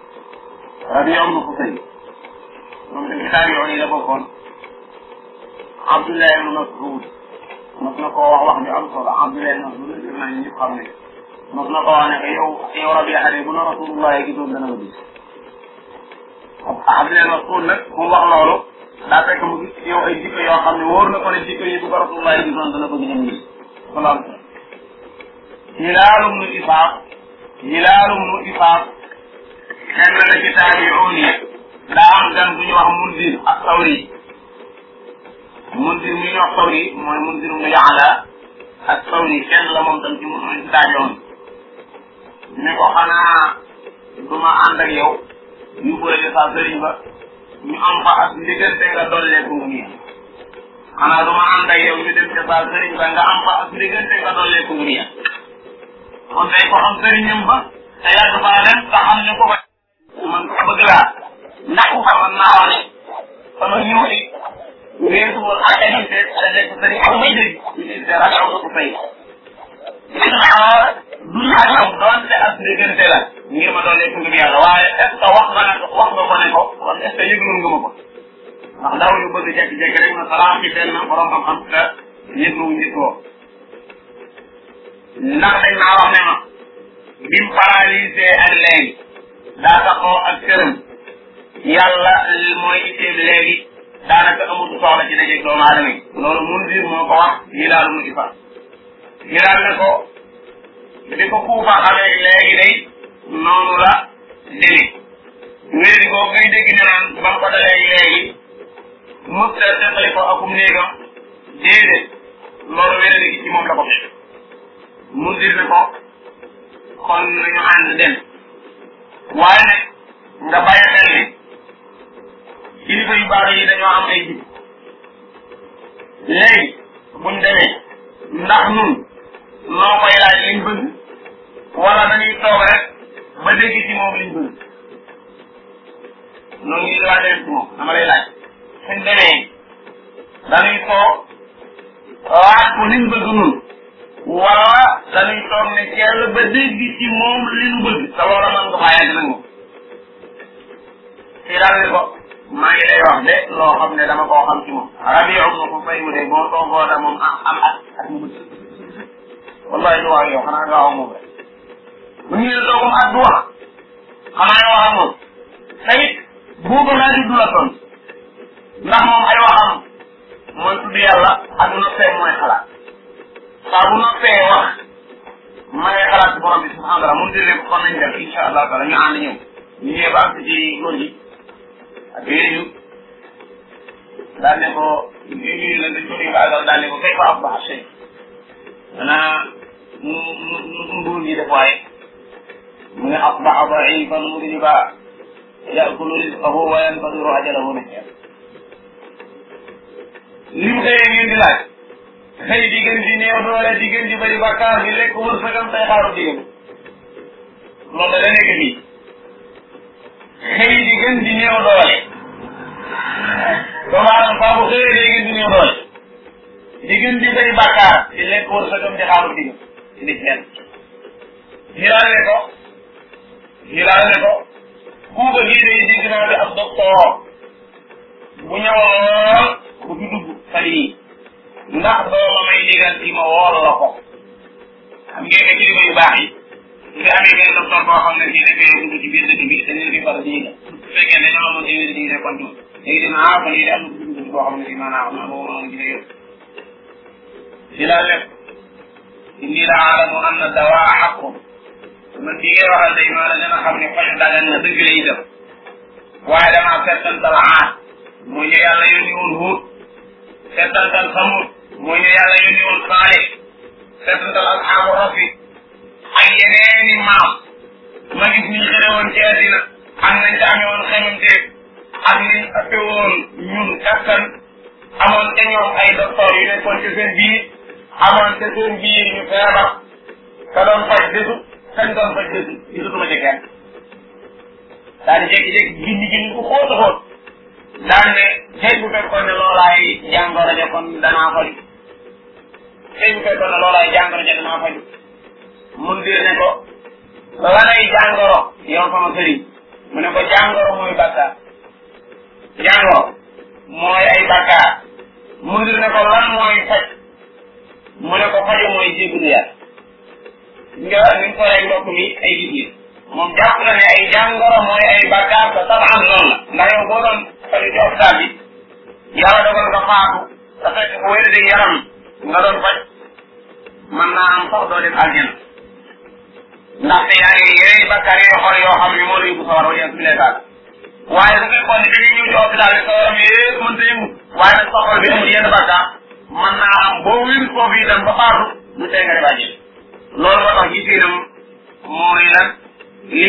moom tamit taabi'oon yi la bokkoon Abdullah ibnu Mas'ud mos na koo wax bi am solo Abdullah ibnu Mas'ud def naa ñëpp xam ne mos na koo wax ne que yow Rabi'a de bu la Rasulullah gisoon dana la gis Abdullah ibnu Mas'ud nag mu wax loolu daa fekk mu gis yow ay jikko yoo xam ne wóor na ko ne jikko yi bu ko Rasulullah gisoon dana bëgg ñoom ñi salaam Hilaal ibnu Isaaq kenn la ci taabi'uun yi daa am gan bu ñu wax Munzir ak Sawri Munzir mi ñu wax Sawri mooy Munzir ibnu Ya'la ak Sawri kenn la moom tam ci taabi'uun ne ko xanaa du ma ànd ak yow ñu boole sa sëriñ ba ñu am fa ak diggante nga dolleeku ngir xanaa du ma ànd ak yow ñu dem ca sa sëriñ ba nga am fa ak diggante nga dolleeku ngir kon day ko xam sëriñam ba te yàgg faa dem te xam ne ko man ko bëgg laa ndax xamoon naa wax ne sama ñëw di weesu woon ak ay nit te nekk sëriñ ak may dégg ñu ne dara xaw ko fay du laaj am doonte ak diggante la ngir ma doon lekk ngëm yàlla waaye est ce que wax nga ko ne ko kon est ce que yëgloon nga ma ko ndax ndaw yu bëgg jekki-jekki rek na salaam ci benn borom xam-xam te yëgluwu njëkkoo ndax dañ naa wax ne ma bim paralysé ak léegi daa taxoo ak këram yàlla mooy itteem léegi daanaka amatu soxla ci dajeeg doomu aadama yi loolu Munzir moo ko wax Hilaal mu Isaaq Hilaal ne ko di ko kuufa xamee léegi day noonu la demee wéeri boobu ngay dégg ne naan ba mu ko dalee léegi mësta teqali ko akum néegam déedéet loolu wéeri gi ci moom la ko fekk Munzir ne ko kon nañu ànd dem waaye nag nga bàyyi xel ne kilifa yu baax yi dañoo am ay jib léegi buñ demee ndax nun noo koy laaj liñ bëgg wala dañuy toog rek ba dégg ci moom liñ bëgg noonu ñu laa demee ci moom dama lay laaj suñ demee dañuy toog laaj ko liñ bëgg nun wala dañuy toog ne jàll ba dégg ci moom li ñu bëgg te loola man nga faa yàgg nag moom fii daal ne ko maa ngi lay wax de loo xam ne dama koo xam ci moom rabiu ma ko fay mu de boo toogoo da moom am ak mu bëgg wallahi du wax yow xanaa nga wax moom rek bu ñu ne toogum at du wax xanaa nga wax ak moom tamit buuba laa di du la ton ndax moom ay waxam mooy tudd yàlla ak noppee mooy xalaat saa bu noppee wax ma ngay xalaat ci borom bi subhanahu wa taala mun dine ko kon nañ def insha allah taala ñu ànd ñëw ñu ñëwee ba ak ci góor gi ak yooyu daal ne ko ñu la dañ ko nuyu baagal daal ne ko kay fa asbaha shay xanaa nguur gi def waaye mu ne asbaha daifan mudriba yakulu rizqahu wa yantadiru ajalahu nahya li mu xëyee ngeen di laaj xëy di gën di néew doole di gën di bëri bàkkaar di lekk wërsëgam tey xaaru digam loolu da nekk fii xëy di gën di néew doole doomu aadama saa bu xëyee day gën di néew doole di gën di bëri bàkkaar di lekk wërsëgam di xaaru digam di nekk nen hilaale ko kuuba gii day dégg naa bi ab docteur bu ñëwoon bu fi dugg fan yii ndax dooma may digal ci ma wool la ko xam ngeen ne kilifa yu baax yi su fi amee benn docteur boo xam ne fii dafay dugg ci biir dëkk bi dañ leen fi far diiga su fekkee ne ñoo amoon diine diine kon tuut léegi dina fan yii de am na ko dugg boo xam ne fii maanaam am na boobu noonu dina yëpp si laa lépp inni la aalamu anna dawaa xaqun man bi ngay waxal day maa la gën a xam ne faj dagan na dëgg lay def waaye damaa settantal aat mooy ñu yàlla yónni woon Huud settantal Samud mooy ñu yàlla yónni woon Saalih settantal asxaabu Rafi ak yeneeni maam ma gis niñ xëre woon ci àddina ak nañ ca amee woon xemamteeg ak niñ ëppe woon ñun kattan amoon ca ñoom ay docteur yu nekkoon ci seen biir amoon ca seen biir ñu feebar ka doon faj desu kañ doon faj desu gisatuma ci kenn daal di jékki-jékki gindi ku xóot a xóot daan ne xëy bu fekkoon ne loolaay jàngoro ja kon danaa faju xëy bu fekkoon ne loolaay jàngoro ja danaa faju mun dir ne ko lanay jàngoro yow sama sëriñ mu ne ko jàngoro mooy bàkkaar jàngoro mooy ay bàkkaar mun dir ne ko lan mooy faj mu ne ko faju mooy jéggalu yàlla nga ni mu soree mbokk mi ay gis moom jàpp na ne ay jàngoro mooy ay bàkkaar te tabaxam noonu la ndax yow boo doon faju ci hôpital bi yàlla dogal nga faatu te fekk bu wér di yaram nga doon faj mën naa am sax doo dem aljana ndaxte yaa ngi yeneen bàkkaar yoo xool yoo xam ne moo la yóbbu sawar wala yàlla bileetaal waaye su fekkoon ne dañuy ñëw ci hôpital bi sa yaram yëpp mënta yëngu waaye nag sa xol bi amul yenn bàkkaar mën naa am boo wér foofu itam ba faatu lu tee nga def loolu moo tax gisinam mooy lan liy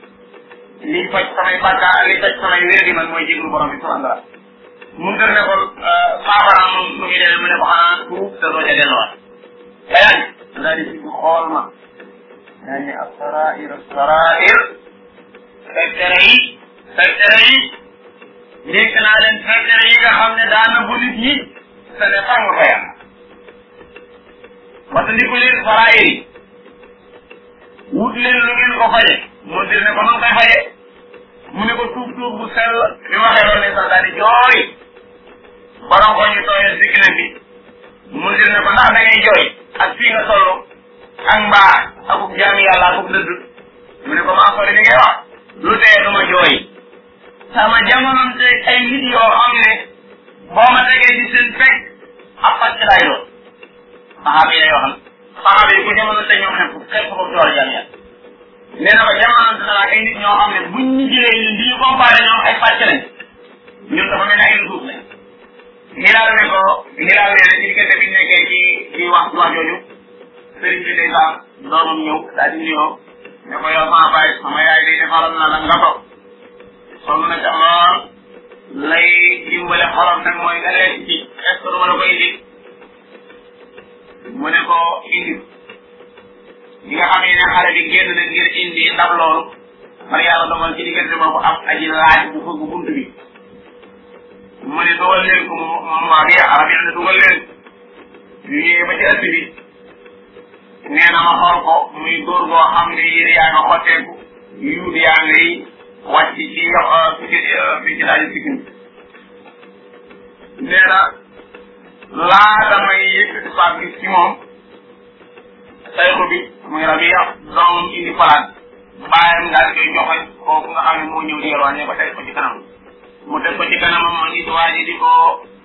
faj samay bàkkaar liy faj samay wér di man mooy jéglu borom bi subhanahu wa taala mun dër ne ko saafara moom lu muy demee mu ne ko xanaa tuub te doo ca delluwaat yaa ngi daal di si xool ma yaa ngi asarair secret yi dénk naa leen secret yi nga xam ne daana bu nit ñi te ne fang ko yàlla parce que ndiku leen sarair yi wut leen lu ngeen ko faje mun dir ne ko noonu koy faje mu ne ko tuub bu sell bi waxee loolu ne sax daal di jooy borom ko ñu tooyee si kile bi mun dir ne ko ndax da ngay jooy ak fii nga toll ak mbaa akub jaami yàlla akub dëdd mu ne ko maa sori li ngay wax lu tee du ma jooy sama jamononte ay nit yoo xam ne boo ma tegee di seen fekk ab pàcc laay doon saxaaba yi lay waxal saxaaba yi ku jamononte ñoom xepp ko door jaami yàlla nee na ko jamononte na ay nit ñoo xam ne buñ ñu jëlee ñun di ñu comparé ñoom ay pàcc lañ ñun dafa mel ne ay suuf lañ hilaal ne ko hilaal nee na ci diggante bi nekkee ci wax jooju sëriñ bi day sax doomam ñëw daal di nuyoo ne ko yow sama baay sama yaay day defaral na la nga toog sonn na ca lool lay dimbale xolam nag mooy nga lekk ci est-ce que duma la ko indi mu ne ko indi ñi nga xam ne xale bi génn na ngir indi ndab loolu man yàlla dogal ci diggante boobu am aji laaj bu fëgg bunt bi mu ne dugal leen ko moom waa bi arab yi ne dugal leen yu ñëwee ba ci ëtt bi nee na ma xool ko muy góor goo xam ne yére yaa nga xotteeku yuut yaa ngay wàcc ci fi ci daaji sikkim nee na laata may yëkkati paak gis ci moom sayxu bi muy Rabia doomam indi palaat bàyyam daal koy joxe kooku nga xam ne moo ñëw di yelwaan ba teg ko ci kanam mu teg ko ci kanamam ma gis waa ji di ko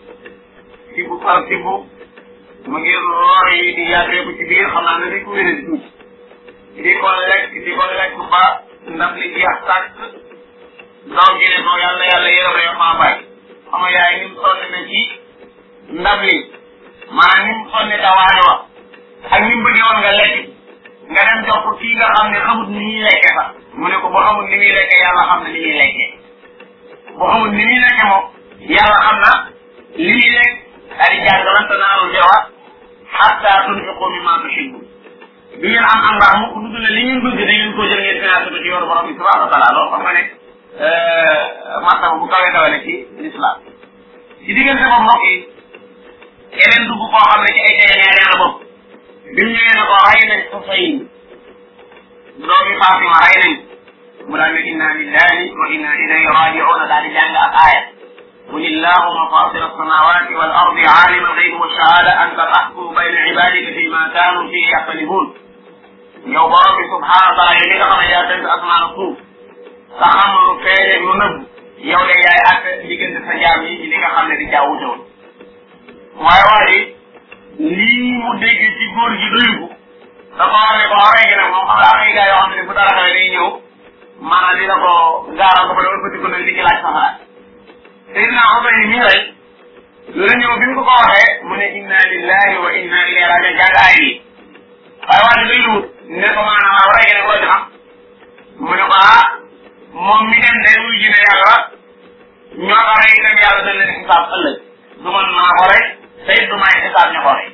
tibb par tibb mu ngi lor yi di yàggeeku ci biir xam naa ne di ko wéne di tuuti di ko lekk ba ndab li jeex tàkk doom ji ne ko yàlla yërëm rek maa bàyyi xam nga yaay ni mu sonn na ci ndab li maanaam ni mu sonne tawaane wa ak ni mu bëggee woon nga lekk nga dem jox ko kii nga xam ne xamut ni ñuy lekke sax mu ne ko boo xamut ni muy lekke yàlla xam na ni muy lekkee boo xamut ni muy lekke moom yàlla xam na li muy lekk daal di jàng lan tanaalul birra hattaa tunfiqu mimmaa tuhibbuun du ngeen am mbaax mu lu dul ne li ngeen bëgg da ngeen koo jël ngeen financé ko ci yoonu borom bi subhanahu wa taala loolu xam nga ne martaba bu kawee kawee ci l'islam ci diggante boobu mbokk yi keneen dugg koo xam ne ci ay tegeñee la bopp bi mu ñëwee ne ko rey nañ Xuseyn doomi Fatima rey nañ mu daal ne inna lillahi wa inna ilayhi raji'un daal di jàng ak aaya qul illahumma fatir as-samawati wal ardi alim al-ghaybi wash-shahada anta tahkumu bayna ibadika fima kanu fihi yaxtalifun yow borom bi subhanahu wa taala yow li nga xam ne yaa tënk asmaan ak suuf sa xam lu feeñe lu nëbb yow de yaay àtte diggante sa jaam yi ci li nga xam ne di jaawute woon waaye waaye lii mu dégg ci góor gi doyu ko dafa wax ne ko rey gi nag moom xam daa may gaa yoo xam ne bu dara xewee day ñëw maanaam dina ko gaaral ko ba dama bëti ko nag di ci laaj saxaraat Seydina Xuseyn mii rey la ñëw bi mu ko waxee mu ne inna lillahi wa inna ilayhi raji'un jàng aay yi waaye waa ji day luut ne ko maanaam waaw rey gi nag loo ci xam mu ne ko moom mi dem day wuy ji ne yàlla ñoo ko rey itam yàlla dañ leen xisaab ëllëg du man maa ko rey te it du may xisaab ñu ko rey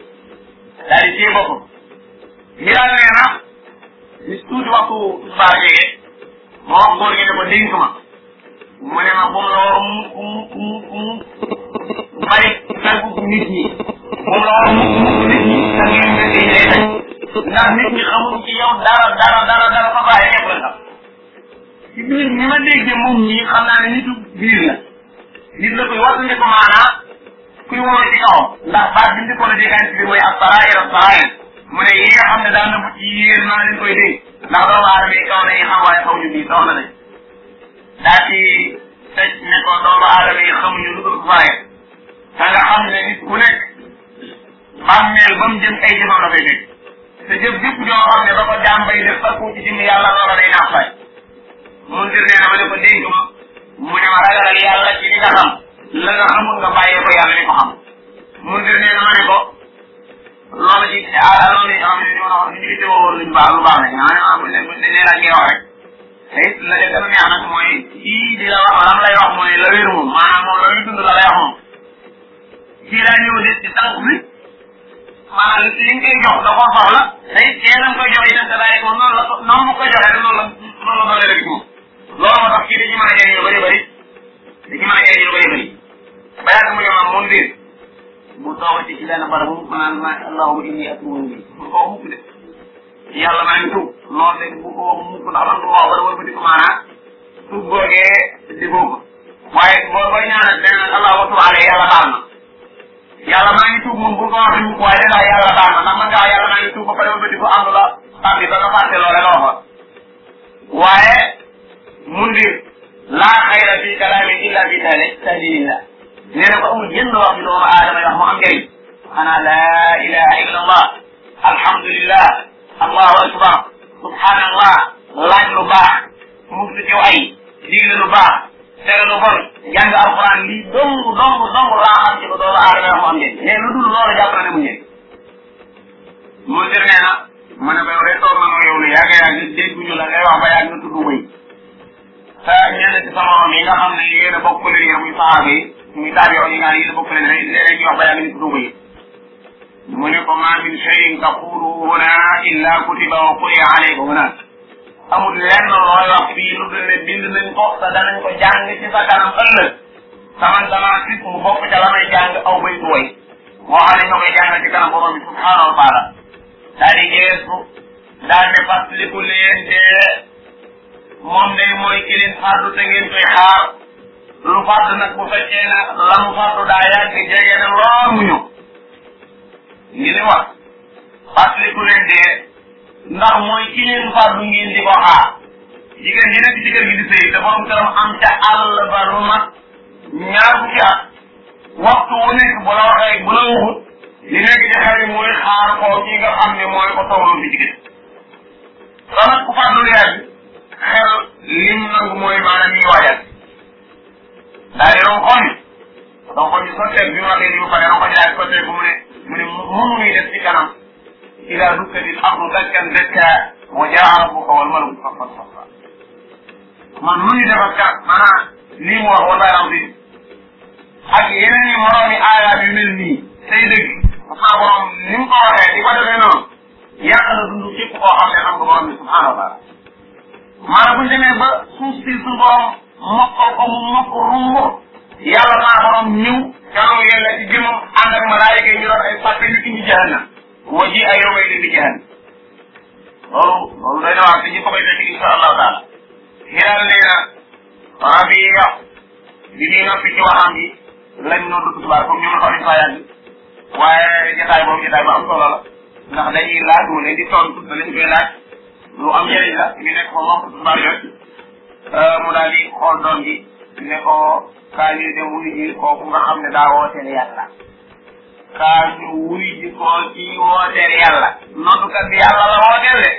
daal di téye boppam mi daal nee na bis tuuti waxtu tisbaar jege moo wax góor gi ne ko dénk ma mu ne ma bu mu la war mukk bari tàggu nit ñi bu mu la war mukk nit ñi ak ngeen mel ni lay daj ndax nit ñi xamuñ ci yow dara fa bàyyi képp la xam ci biir ni ma déggee moom ñii xam naa ne nitu biir la nit la koy wattandi ko maanaa kuy wóor ci kawam ndax baat bi njëkkoon a déggaan bi mooy as-saraa'ir mu ne yi nga xam ne daan na bu ci yéen maa leen koy dégg ndax doomu aadama yi kaw nañu xam waaye xaw ñu bii soxla nañ daa ci tëj ne ko doomu aadama yi xamuñu lu dul faye te nga xam ne nit ku nekk bàmmeel ba mu jëm ay jëfam la fay nekk te jëf jëpp joo xam ne ba ko jàmbay def fakku ci jëm yàlla loola day naax fay mun dir nee na ma ne ko dénk ma mu ne ma ragalal yàlla ci li nga xam la nga xamul nga bàyyee ko yàlla li ko xam mun dir nee na ma ne ko loolu ci loolu yi xam ne ñu ngi teewoo luñ baax lu baax la nga xam ne nee la ngay wax rek te it la def dama neex nag mooy kii di la wax lam lay wax mooy la wér moom maanaam moom la muy dund la lay wax moom kii laa ñëw di tànk bi maanaam li nga koy jox da koo soxla te it kee nam koy jox itam te daay moom noonu mu koy joxee rek noonu la doole rek moom loolu moo tax kii da ci mën a jëriñ lu bëri bëri da ci mën a jëriñ lu bëri bëri ba yàgg mu ñëw moom biir bu toogati ci benn barab mu naan ma allahumma inni atuubu ilayk bu ko mukk de yàlla maa ngi tuub loolu de bu ko mukk ndax man ko wax ba dama bëti ko maanaa tuub googee di ko waaye boo koy ñaanal beneen allah wa tuub alayhi yàlla baal na yàlla maa ngi tuub moom bu ko waxee mukk waaye danaa yàlla baal na ndax man ngaa yàlla maa ngi tuub ba pare ba bëti ko ànd la tàbbi ba nga fàtte loole nga waxoon waaye mundir laa xayra fi kalaamin illa bi tahdidillah nee na ko amul jënd wax bi doomu aadama yi wax mu am njëriñ xanaa laa ilaha illa allah alhamdulillah allahu akbar subhanallah laaj lu baax muslu ci ay digle lu baax tere lu bon jàng alquran lii dong laa xam ci ko doomu aadama yi wax mu am njëriñ mais lu dul loolu jàpp na ne mu njëriñ mundir nee na ma ne ko yow de toog na yow lu yàgg dégguñu la ngay wax ba yàgg nga tudd wëy te ñenn ci sama moom yi nga xam ne yéen a bokk leen yéen muy saxaaba yi muy taabi'u yi nga yéen a bokk leen léeg-léeg ñu wax ba yàgg ñu tudd wëy mu ne ko ma min shay'in taquluhu huna illa kutiba wa quri'a alayka huna amul lenn looy wax fii lu dul ne bind nañ ko te danañ ko jàng ci sa kanam ëllëg saman damaa sit mu bokk ca la may jàng aw baytu way moo xam ne ñoo koy jàng ci kanam borom bi subhaanahu wa taala daal di geesu daal ne fàttaliku leen dee moom day mooy ki leen fàddu te ngeen koy xaar lu fàddu nag bu fekkee ne la mu fàddu daa yàgg jege ne lool mu ñëw ngi ni wax fàttaliku leen dee ndax mooy ki leen fàddu ngeen di ko xaar jigéen ji nekk ci kër gi di sëy te borom këram am ca àll ba lu mat ñaar fukki at waxtu wu nekk bu la waxee bu la waxut li nekk ci xel mooy xaar ko ki nga xam ne mooy ko tawloo fi jigéen te nag ku fàddu yàgg xel lim nangu mooy maanaam ñuy waajal daal di ronkoñ bi sotteeg bi mu waxee ni mu pare ronkoñ daal di sotteeg mu ne mënu muy def ci kanam ila dukkatil ardu dakkan dakka wa jaa rabbuka wal malaku saffan saffa man lu ñu def ak kat maanaam lii mu wax wallahi azim ak yeneen i moroomi aayaat yu mel nii say dëgg sa borom ni mu ko waxee di ko defee noonu yàq na dund képp koo xam ne xam nga borom bi subhanahu wa taala maanaam bu ñu demee ba suuf si su borom mokkal ko mu mokk rumbo yàlla maa borom ñëw kanam yàlla ci jëmam ànd ak malaayika yi ñu doon ay fàtte ñu indi jahannam wa ji ay yow may di jahannam loolu day na wax te ñu ko koy fekk insha allahu taala xiral nee na Rabiya bi ñuy noppi ci waxam bi lañ noonu du tubaab comme ñoom xaw nañ faa yàgg waaye jotaay boobu jotaay bu am solo la ndax dañuy laaj mu leen di tontu da lañ koy laaj lu am njëriñ la ñu nekk ko moom tubaab yooyu mu daal di xool doom ji ne ko kaa ñu dem wuyu ji kooku nga xam ne daa wooteel yàlla kaa ñu wuyu ji ko ci wooteel yàlla noddukat bi yàlla la wooteel de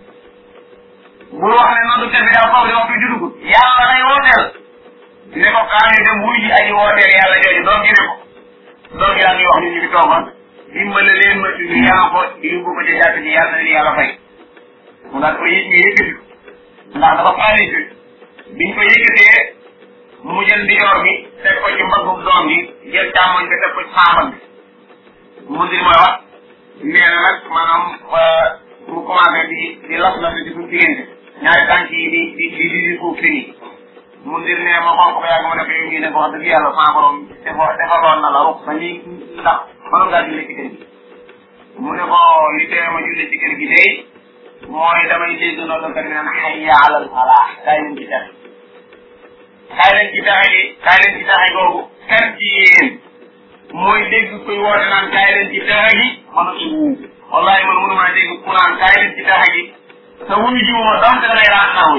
bul wax ne noddukat bi daa faw di wax fi judugut yàlla lay wooteel ne ko kaa ñu dem wuyu ji ay wooteel yàlla jooju doom ji ne ko doom ji daal ñuy wax ñu ngi toogoon dimbale leen ma ci ñu yàlla ko yóbbu ko ci jàkk ji yàlla na leen yàlla fay mu daal ko yëg ñu yëkkati ndax dafa paralysé biñ ko yëkkatee mu jël ndijoor bi teg ko ci mbaggum doom bi jël càmmoñ bi teg ko ci saabam bi mu dir mooy wax nee na nag maanaam mu commencé di las la ci suñu diggante ñaari tànk yi di fuuf fi nii mu dir ne ma xool ko ba yàgg ma def yow ñii ne ko wax dëgg yàlla sama borom defaloon na la rux sa ñi ndax mënoon ngaa julli ci kër gi mu ne ko li tee ma julli ci kër gi day mooy damay dégg noddukat bi naan hayya alal falaax kaay leen ci texe kaay leen ci texe gi kaay leen ci texe googu kan ci yéen mooy dégg kuy woote naan kaay leen ci texe gi mën a ci wuub wallahi man mënumaa dégg ku naan kaay leen ci texe gi te wuñu ji moo dam te damay raan naa wuñ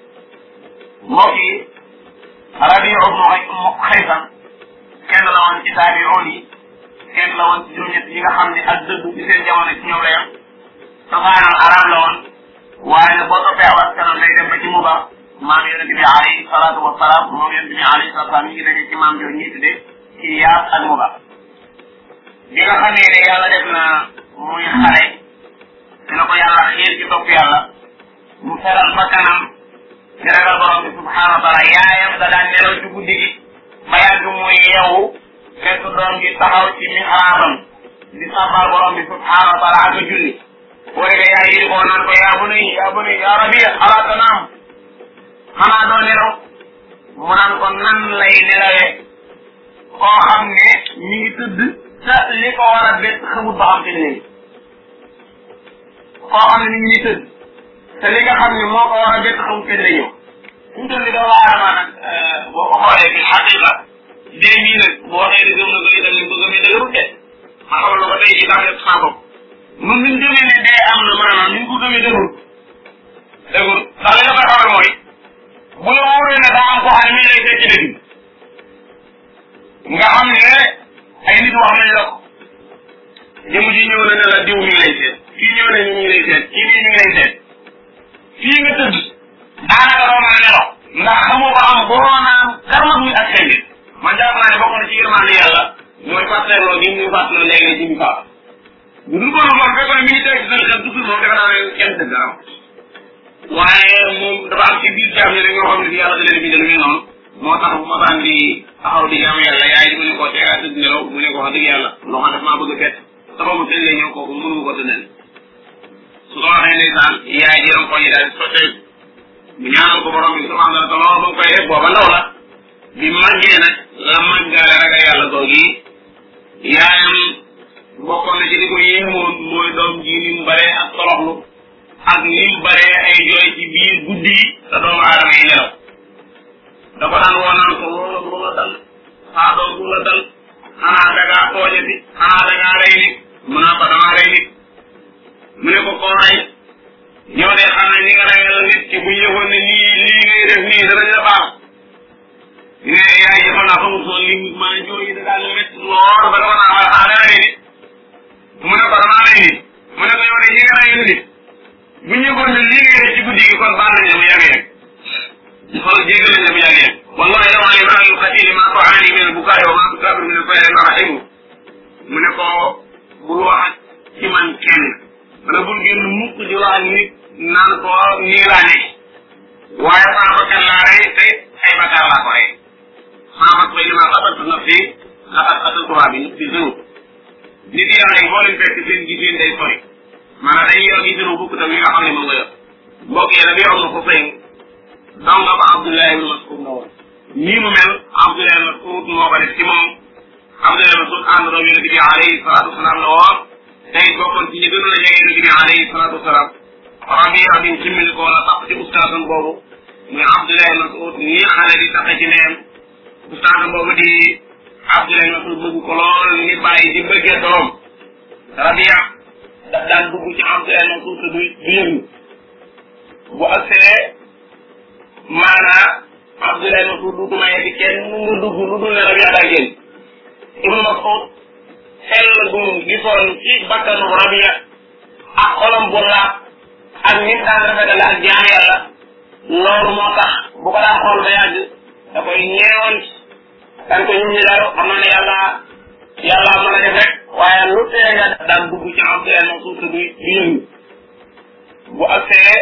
mbokk yi Rabiu ibnu Xaysan kenn la woon ci taabi'oon yi kenn la woon ci juróom-ñett yi nga xam ne ak dëgg ci seen jamono ci ñoom la yam safaanal arab la woon waaye nag boo toppee aw askanam day dem ba ci Muba maam yonent bi alayhi salaatu wa salaam moom yonent bi alayhi salaatu wa salaam mi ngi daje ci maam yooyu ñuy tuddee ci Iyaas ak Muba bi nga xamee ne yàlla def na muy xale dina ko yàlla xiir ci topp yàlla mu feral ba kanam di ragal borom bi subhaanahu wa taala yaayam da daan nelaw ci guddi gi ba yàgg muy yeewu fekk doom gi taxaw ci mihraabam di sàbbal borom bi subhaanahu wa taala ak julli booy de yaay yi ko naan ko yaa bunayya yaa Rabiya alaa tanaam xanaa doo nelaw mu naan ko nan lay nelawee koo xam ne mi ngi tëdd te li ko war a bett xamut ba xam te léegi koo xam ne mi ngi tëdd te li nga xam ne moo ko war a bett xamut te lay ñëw suñu toll nii doomu aadama nag boo ko xoolee bi xaqiqa dee mii nag boo waxee ne gëm na ko itam ni ko gëmee dëgërul de ma xamal la ko tey jii tax saa bopp nun ñu gëmee ne dee am na maanaam ñu ko gëmee dëgërul ndax li nga koy xamal mooy bu la wóoree ne daa am koo xam ne mi ngi lay seet ci dëgg nga xam ne ay nit wax nañ la ko jëmu ji ñëw na ne la diw mi ngi lay seet kii ñëw na ñu ngi lay seet kii nii mi ngi lay seet fii nga tëdd daanaka doo mën a nelaw ndax xamoo ba am boo naan karma muy ak seen nit man jàpp naa ne bokk na ci yërmande yàlla mooy fàttaloo gi ñu fàttaloo léegi ne ji ñu faatu bu dul ko moom fekkoon ne mi ngi teg ci seen xel toujours moom defe naa ne kenn dëgg am waaye moom dafa am ci biir jaam ñi rek ñoo xam ne si yàlla da leen bindal muy noonu moo tax bu ma daan di taxaw di jaam yàlla yaay di mu ne ko teegaa tëdd nelaw mu ne ko wax dëgg yàlla loo xam daf maa bëgg a fett sababu seen lay ñëw kooku mënu ko tëddal su ko waxee ndeysaan yaay jëram ko yi daal sottee googi yaayam bokkoon na ci li ko yéemoon mooy doom ji ni mu baree ak toroxlu ak ni mu baree ay jooy ci biir guddi yi te doomu aadama yi nelaw da ko daan woonaan ko loolu lu la dal saa doom lu la dal xanaa dangaa tooñati xanaa dangaa rey nit mu naa ko damaa rey nit mu ne ko koo rey yow de xam ne ni nga reyal nit ki bu yëgoon ne lii ngay def nii danañ la baal ne yaay ji xam naa xamul soo li maa jooy yi da daal métti lool ba dama naa wala dana rey nit mu ne ko damaa rey nit mu ne ko yow de ñi nga reyal nit bu yëgoon ne lii ngay def ci guddi gi kon baal nañ la bu yàggee rek xool jéggal nañ la bu yàggee rek wallahi yow ali ma yuqatili ma ko aani min al-bukaa wa ma tukabir min al-fayl rahimu mu ne ko bul wax ci man kenn wala bul génn mukk di wax nit naan ko nii laa nekk waaye sama bakkan laa rey te ay bakkaar laa ko rey sama bakkan li ma xabaltu nafsi laqad qataltuhaa bi zunub nit yàlla yi boo leen fekk seen giseen day sori maanaam dañuy yor gisinu bukk tam yi nga xam ne moom nga yor mbokk yi dafa yor na ko fay donc nga ko Abdullah ibn Mas'ud na woon nii mu mel Abdullah ibn Mas'ud moo ko def ci moom Abdullah ibn Mas'ud ànd ak yonent bi alayhi salaatu wasalaam la woon tey bokkoon ci ñi gënoon a jege yonent bi alayhi salaatu wasalaam Rabia bin simmil ko wala tax ci ustaasam boobu muy Abdullah ibn Mas'ud nii xale di taxe ci neen ustaasam boobu di Abdullah ibn Mas'ud bëgg ko lool ni bàyyi di bëggee doom Rabia daf daan dugg ci Abdullah ibn Mas'ud te du yëngu bu agsee maanaa Abdullah ibn Mas'ud du maye di kenn nga dugg lu dul ne Rabia daa génn Ibn Mas'ud xel gu gisoon ci bakkanu Rabia ak xolam bu laab ak nit daan rafetale ak jaam yàlla loolu moo tax bu ko daan xool ba yàgg da koy ñeewoon kan ko ñun ñi daal xam na ne yàlla mën a def rek waaye lu tee nga daan dugg ci Abdullah ibn Mas'ud te du yëngu bu agsee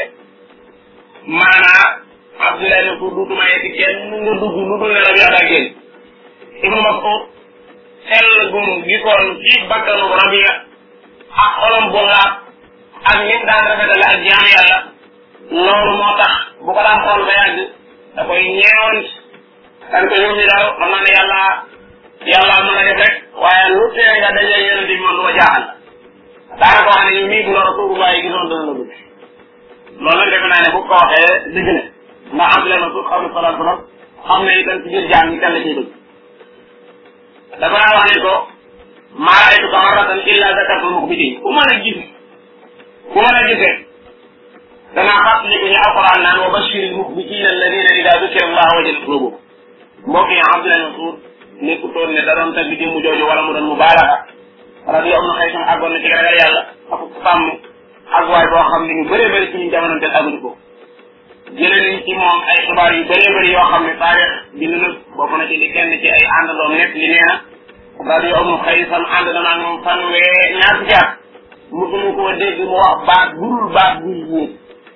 maanaa Abdullah ibn Mas'ud du maye di kenn nga dugg lu dul ne Rabia daa génn Ibn Mas'ud xel gu gisoon ci bakkanu Rabia ak xolam bu laab ak nit daan rafetale ak jaam yàlla loolu moo tax bu ko daan xool ba yàgg da koy ñeewoon kan ko ñun ñi daal xam na ne yàlla mën a def rek waaye lu tee nga dajee yonent bi man du ma jaaxal daanaka wax ne ñu mii bu la Rasulullah yi gisoon dana la bëgg loolu nag defe naa ne bu ko waxee dëgg la ndax Abdullah ibn Mas'ud xam ne salaam salaam xam ne itam ci biir jaam ñi kan la ciy bëgg dafa naa wax ne ko maa ra'aytuka marratan illa zakartu al-mukhbitin ku mën a gisee danaa fàttaliku ñu alquran naan wa bashir al-mukhbitin alladina ida dukira Allah wajilat qulubuhum mbokk yi Abdullah ibn Mas'ud nekkutoon ne da doon tagg jëmm jooju wala mu doon mubaalaga Rabi'a ibn Xaysam àggoon na ci ragal yàlla ak sàmm ak waay boo xam ne ñu bëree bëri ci ñu jamono te àgguñu ko jëlee nañ ci moom ay xibaar yu bëree bëri yoo xam ne taarix bind na bokk na ci li kenn ci ay àndandoom nekk li nee na Rabi'a ibn Xaysam ànd na maag moom ñaar fukki at musuma koo dégg mu wax baat budul baat buy yéeg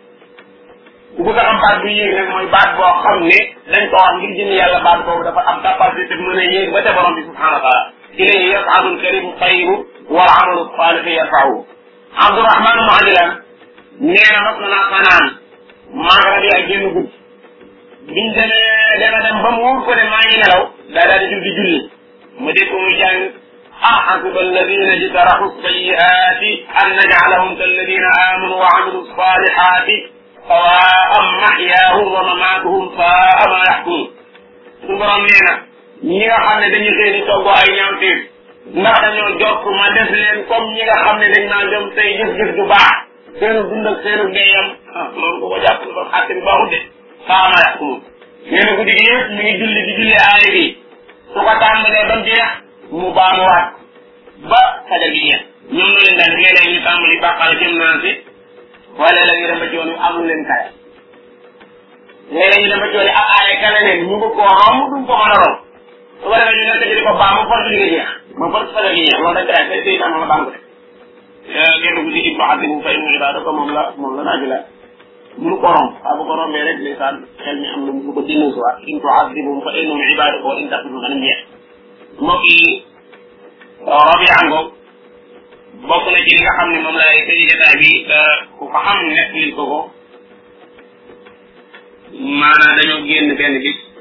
ku bëgg a am baat buy yéeg nag mooy baat boo xam ne dañ ko wax ngir jënd yàlla baat boobu dafa am capacité mën a yéeg ba ca borom bi subhanahu wa taala ilayhi yas'adu al-kalimu at-tayyibu wal 'amalu as-salihu yarfa'uhu Abdurrahman ibn Ajlan nee na mas naa fanaan maag Rabia génn guddi biñ dema dem ba mu wóor ko ne maa ngi nelaw daal di jug di julli ma dégg ko muy jàng ahasiba alladina ijtarahu as-sayyi'ati an naj'alahum kalladina amanu wa 'amilu as-salihati sawa'an mahyaahum wa mamaatuhum saa'a ma yahkumun suñu borom nee na ñi nga xam ne dañuy xëy di toggoo ay ñaawteef ndax dañoo jokk ma def leen comme ñi nga xam ne dañ naa gëm tey jëf-jëf du baax seenu dund ak seenu deeyam loolu ko ko jàpp ne kon xatte bi baaxut de saa'a ma yahkumun nee na guddi gi yëpp mi ngi julli di julli aaya bi su ko tàmbalee ba mu jeex mu baamuwaat ba fajar gi jeex ñoom na leen daal léeg-léeg ñu tàmbali bàqal jëm naa si wala léeg-léeg ñu dem ba ci yoon wi am lu leen kaya léeg-léeg ñu dem ba ci yoon wi ak aaya kale leen ñu bëgg koo romb duñ ko mën a romb su ko defee ñu nekk ci di ko baamu force li nga jeex ma force fajar gi jeex loolu dañ koy ay say tam la baamu de génn guddi ibnu adibu fa inna ibadaka moom la naaji la mënu ko romb waaw bu ko rombee rek ndeysaan xel mi am na lu ko dinu si waat in tu'adibhum fa innahum ibadaka wa in taghfir lahum jeex mbokk yi Rabia ngoog bokk na ci li nga xam ne moom laay tëj jotaay bi ku ko xam nekk li ko maanaam dañoo génn benn bis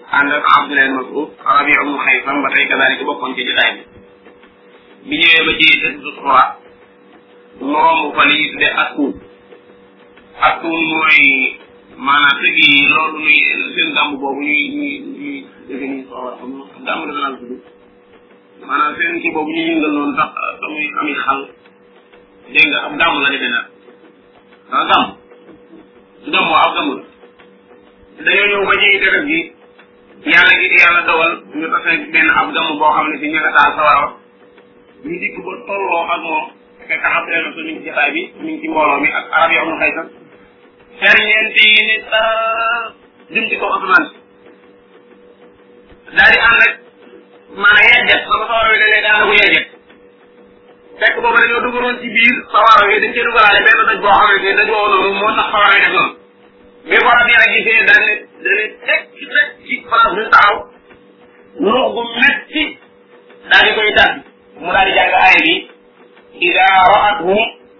ànd ak Abdullah ibn Mas'ud Rabi' ibn Xaysam ba tey kadaalika bokkoon ci jotaay bi ñëwee ba ci tëdd xura mu romb fa li ñuy tuddee askuun mooy maanaam tëgg yi loolu nuy seen gàmb boobu ñuy dégg nii soo war a xam gàmb dafa naan tudd maanaam seen kii boobu ñuy yëngal noonu sax muy ami xal dégg nga ab gàmb la defee nag gàmb gàmmoo ab gàmb la dañoo ñëw ba ci deret gi yàlla dogal ñu tase benn ab gàmb boo xam ne si ña nga taal sawara ñu dikk ba tolloo ak moom fekk xam leen na mi ngi ci jotaay bi mi ngi ci mbooloo mi ak arab yi am na xaysam ferñeent yi ni jëm ci kaw asamaan daal di ànd rek maanaam yejjet sama sawara wi dalee daana ko yejjet fekk boobu dañoo dugaloon ci biir sawara wi dañ cee dugalaale benn daj boo xamante ne daj woowu noonu moo tax sawara wi def noonu bi ko rab yi nag gisee dane teg ci place bi taxaw ndox gu metti daal di koy tàbbi mu daal di jàng aaya bi ida ra'athum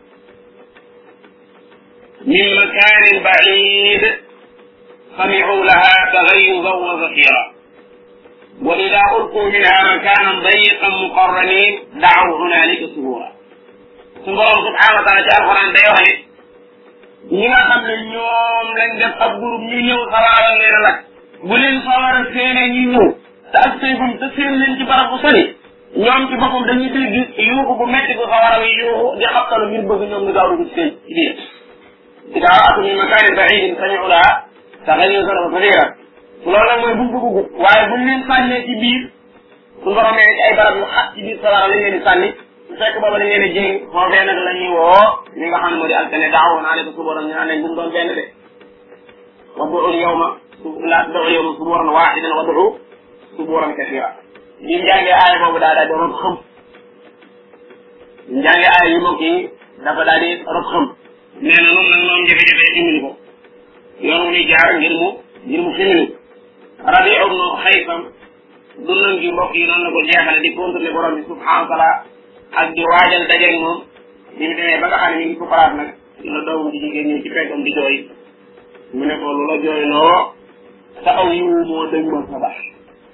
min makanin ba'id sami'u laha taghayyuzan wa zafira wa ida ulqu minha makanan dayiqan muqarranin da'aw hunalika subura su borom subhanahu wa taala ci alquran day wax ne ñi nga xam ne ñoom lañ def ab groupe ñu ñëw sawara leen lakk bu leen sawara seenee ñu ñëw te ak seegum te seen leen ci barab bu sori ñoom ci boppam dañuy dégg yuuxu bu metti bu sawara wi yuuxu di xabtalu ngir bëgg ñoom ñu gaaw dugg ci seen ci biir ida ra'atu min makanin ba'idin sami'u laha taghayyuzan wa zafira loolu nag mooy buñ ko bëggut waaye buñ leen sànnee ci biir su boromee ci ay barab yu xat ci biir sawara lañ leen di sànni su fekk booba dañ leen di jéng foofee nag la ñuy woo ñi nga xam ne moo di altane daaw naa leen ko suboran ñu naan leen bu mu doon benn de wad'u yawma la tad'u yawma suburan wahidan wad'u suburan kathira bi njàngee aaya boobu daa daal di rob xam njàngee aaya yu mbokk yi dafa daal di rob xam nee na noonu nag noonu jafe-jafe dimbali ko yoon wu ñuy jaar ngir mu ximili Rabi' ibn Xaysam dundam gi mbokk yi noonu la ko jeexale di contrôler borom bi subhanahu wa taala ak di waajal dajeeg moom bi mu demee ba nga xam ne mi ngi sukuraat nag la doomam di jigéen ñëw ci peggam di jooy mu ne ko lu la jooyloo sa aw yiwu moo dëñ ma sa bax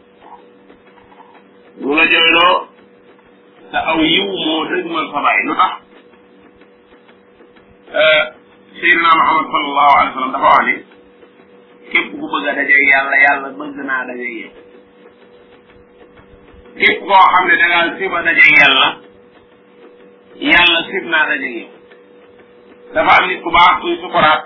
lu la jooyloo sa aw yiwu moo dëñ ma sa bax lu tax Seydina Muhammad sallallahu alayhi wa sallam dafa wax ni képp ku bëgg a dajeeg yàlla bëgg naa dajeeg yow képp koo xam ne da ngaa siba dajeeg yàlla sib naa dajeeg yow dafa am nit ku baax kuy sukuraat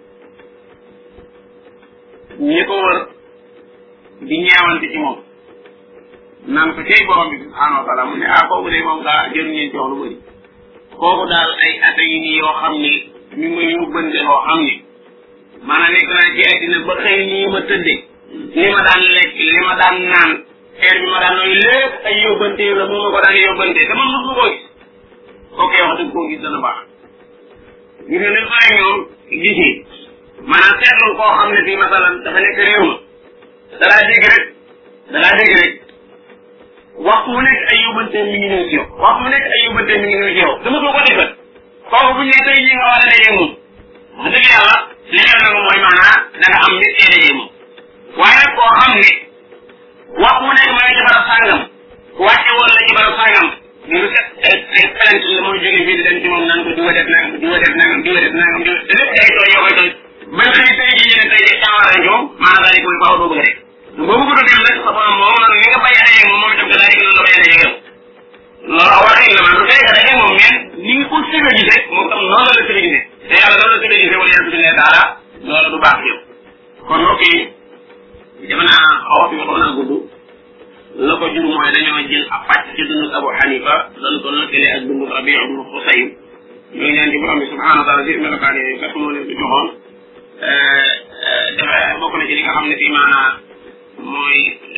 ñi ko wër di ñeewante ci moom naan ko cay borom bi subhanahu wa taala mu ne kooku de moom daa jëruñee ci wax lu bëri kooku daal ay at yi nii yoo xam ni mi ngi may yóbbante loo xam ni maanaam nekk naa ci àddina ba xëy nii ma tëddee li ma daan lekk li ma daan naan xeer bi ma daan nooy lépp ay yóbbante la moom ma ko daan yóbbante te man mos ma ko gis kooku wax dëgg koo gis dana baax gis nga ni ma ñoom gisee maanaam seetlu koo xam ne fii masalan dafa nekk réew ma dalaa dégg rek waxtu mu nekk ay yóbbante mi ngi ñëw ci yow waxtu mu nekk ay yóbbante mi ngi ñëw ci yow dama ko defal kooku bu ñu tey ñi nga war a dajee moom wax dëgg yàlla li xew na moom mooy maanaam da nga am nit ee dajee moom waaye nag koo xam ne waxtu mu nekk ma nga ci barab sàngam wàcce woon la ci barab sàngam ñu set ay plainte la mooy jóge fii di dem ci moom naan ko diwa def nangam te lépp day tooy yoo koy tooy bañ xëy tey ji ñu ne tey ji càmmara ñoom maanaam daal di koy faaw doo bëgg a def boo bëgg a dem nag sa borom moom noonu ni nga bay adajee moom moom itam que daal di noonu la bay adajee yow loolu waxin la man du tey adajee moom mais ni nga ko sëga gisee moom tam noonu la sëga gisee te yàlla noonu la sëga gisee wala yàlla billahi taala loolu du baax yow kon mbokk yi dama naa xaw fi xaw naa gudd la ko jur mooy dañoo jël ab pàcc ci dundu Abu Hanifa doon ko lëkkale ak dundu Rabi' ibn Husayn ñoo ngi ñaan ci borom bi subhanahu wa taala ci melokaan yooyu kat moo leen ko joxoon dafa bokk na ci li nga xam ne fii maanaa mooy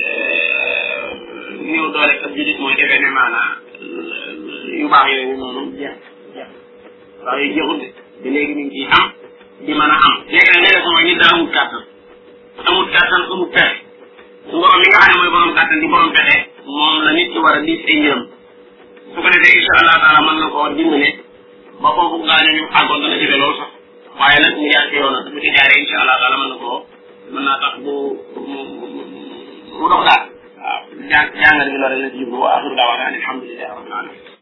néew doole ak jullit mooy defee ne maanaa yu baax yooyu noonu jeex waaw yu jeexul de ba léegi ñu ngi ciy am di mën a am léegi nag léeg-léeg mooy nit daa amul kàttan amul pexe su borom mi nga xam ne mooy borom kàttan di borom pexe moom la nit ki war a diis ay njëram su ko defee incha allah taala mën na koo dimbale ba foofu gaañu ñu àggoon dana jafe loolu sax waaye nag mu jaar ci yoon bu ci jaaree incha allah taala mën naa tax bu mu dox daal waaw jàngat bi loolu la ci jublu wa axiru daawaana alhamdulillahi rabbil alamin